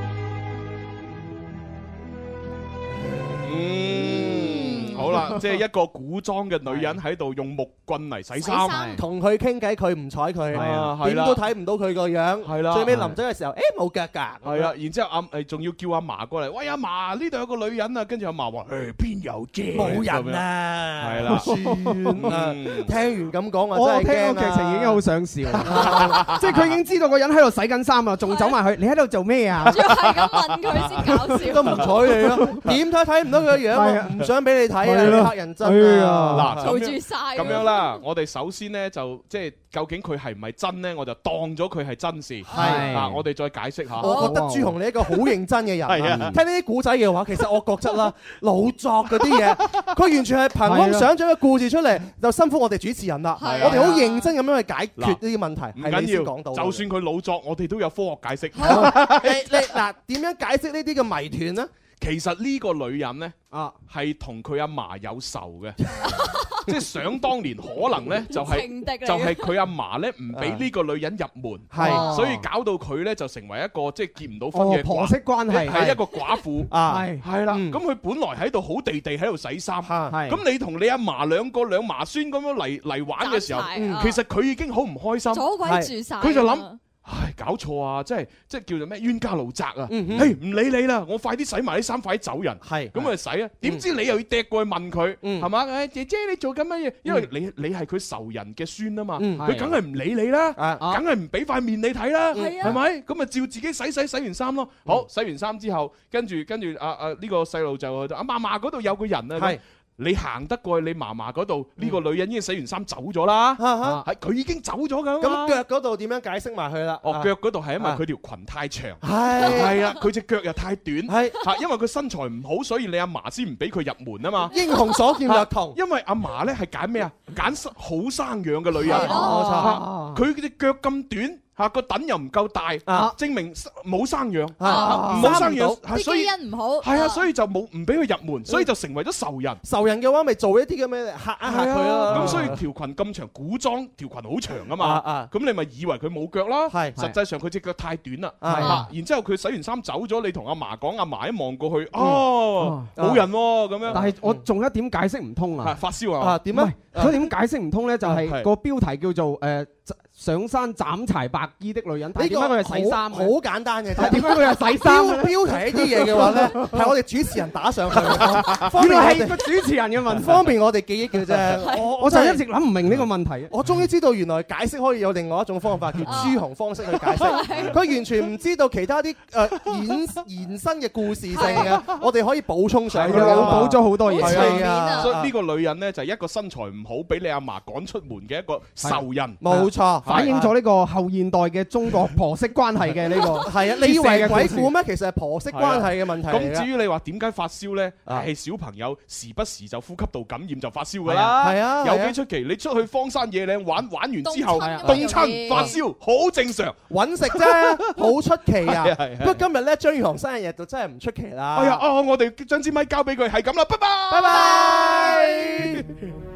好啦，即係一個古裝嘅女人喺度用木棍嚟洗衫， 同佢傾偈，佢唔睬佢，點都睇唔到佢個樣。係啦，最尾臨走嘅時候，冇腳㗎。 係啊，然之後仲要叫阿嫲過嚟，喂阿嫲，呢度有個女人啊，跟住阿嫲話：邊有啫？冇人啊！係啦， 算啦。聽完咁講， 我真係聽個劇情已經好想笑，即係佢已經知道個人喺度洗緊衫啊，仲走埋去，你喺度做咩啊？ 仲要係咁問佢先搞笑， 都唔睬你咯，點睇唔到佢個樣，唔想俾你睇。黑人真啊！ 做住晒咁樣啦，我哋首先咧就即係究竟佢係唔係真咧，我就當咗佢係真事。係啊，我哋再解釋下。 我覺得朱紅你一個好認真嘅人。係啊，聽呢啲古仔嘅話，其實我覺得啦，老作嗰啲嘢，佢完全係憑空想像嘅故事出嚟，就辛苦我哋主持人啦。我哋好認真咁樣去解決呢啲問題。 唔緊要，就算佢老作，我哋都有科學解釋。 你嗱點樣解釋呢啲嘅謎團呢？ 其實呢個女人呢，係同佢阿嫲有仇嘅，即係想當年可能呢，就係佢阿嫲呢唔俾呢個女人入門，所以搞到佢呢就成為一個即係結唔到婚嘅婆媳關係， 係一個寡婦，係啦。咁佢本來喺度好地地喺度洗衫，咁你同你阿嫲兩嫲孫咁樣嚟玩嘅時候，其實佢已經好唔開心， 阻鬼住晒， 佢就諗。唉，搞錯啊！即係叫做咩冤家路窄啊！嘿，唔理你啦，我快啲洗埋啲衫，快啲走人。係咁啊，洗啊！點知你又要趯過去問佢，係嘛？誒，姐姐你做緊乜嘢？因為你係佢仇人嘅孫啊嘛，佢梗係唔理你啦，梗係唔俾塊面你睇啦，係咪？咁啊，照自己洗完衫咯。好，洗完衫之後，跟住呢個細路就阿嫲嫲嗰度有個人啊。你行得過去你嫲嫲嗰度，呢個女人已經洗完衫走咗啦，係佢已經走咗噶。 咁腳嗰度點樣解釋埋佢啦？ 腳嗰度係因為佢條裙太長，係啊，佢隻腳又太短，係因為佢身材唔好，所以你阿嫲先唔俾佢入門啊嘛。 英雄所見略同， 因為阿嫲咧係揀咩啊？揀好生養嘅女人，冇錯。佢隻腳咁短。個躉又唔夠大，證明冇生養，冇生養， 啲基因唔好， 係啊，所以就冇唔俾佢入門，所以就成為咗仇人。 仇人嘅話，咪做一啲咁嘅嚇一嚇佢咯。 咁所以條裙咁長，古裝條裙好長啊嘛。咁你咪以為佢冇腳啦？實際上佢隻腳太短啦。然之後佢洗完衫走咗，你同阿嫲講，阿嫲一望過去，冇人喎咁樣。 但係我仲有一點解釋唔通啊！ 發燒啊？ 點啊？ 嗰點解釋唔通咧？就係個標題叫做上山斬柴白衣的女人，點解佢係洗衫？ 好簡單嘅啫。 點解佢係洗衫？ 標題呢啲嘢嘅話咧，係我哋主持人打上去， 原來係個主持人嘅問題， 方便我哋記憶嘅啫。 我就一直諗唔明呢個問題。 我終於知道原來解釋可以有另外一種方法，叫朱紅方式去解釋。佢完全唔知道其他啲延伸嘅故事性嘅，我哋可以補充上去。 補咗好多嘢。 係啊， 所以呢個女人咧就係一個身材唔好，俾你阿嫲趕出門嘅一個仇人。 冇錯。 反映咗呢個後現代嘅中國婆媳關係嘅呢個係啊，你以為鬼故咩？其實係婆媳關係嘅問題。 咁至於你話點解發燒咧？係小朋友時不時就呼吸道感染就發燒㗎啦。係啊，有幾出奇？你出去荒山野嶺玩完之後凍親發燒，好正常。 揾食啫，好出奇啊！不過今日咧張宇航生日就真係唔出奇啦。 哎呀，我哋將支咪交俾佢，係咁啦，拜拜， 拜拜。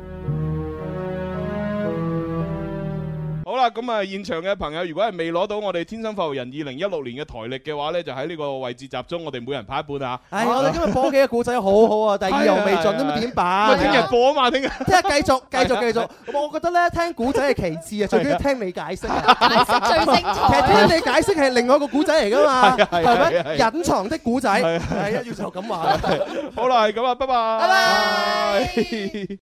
好啦，咁啊，現場嘅朋友，如果係未攞到我哋天生快活人2016年嘅台歷嘅話咧，就喺呢個位置集中，我哋每人派一半啊！ 我哋今日播幾個故仔好好啊，但係意猶未盡，咁點辦？ 聽日播啊嘛，聽日繼續。我覺得咧，聽古仔係其次啊，最緊要聽你解釋。 解釋最精彩。 其實聽你解釋係另外一個古仔嚟㗎嘛，係咪？隱藏的古仔係要就咁話。 好啦，係咁啊，拜拜。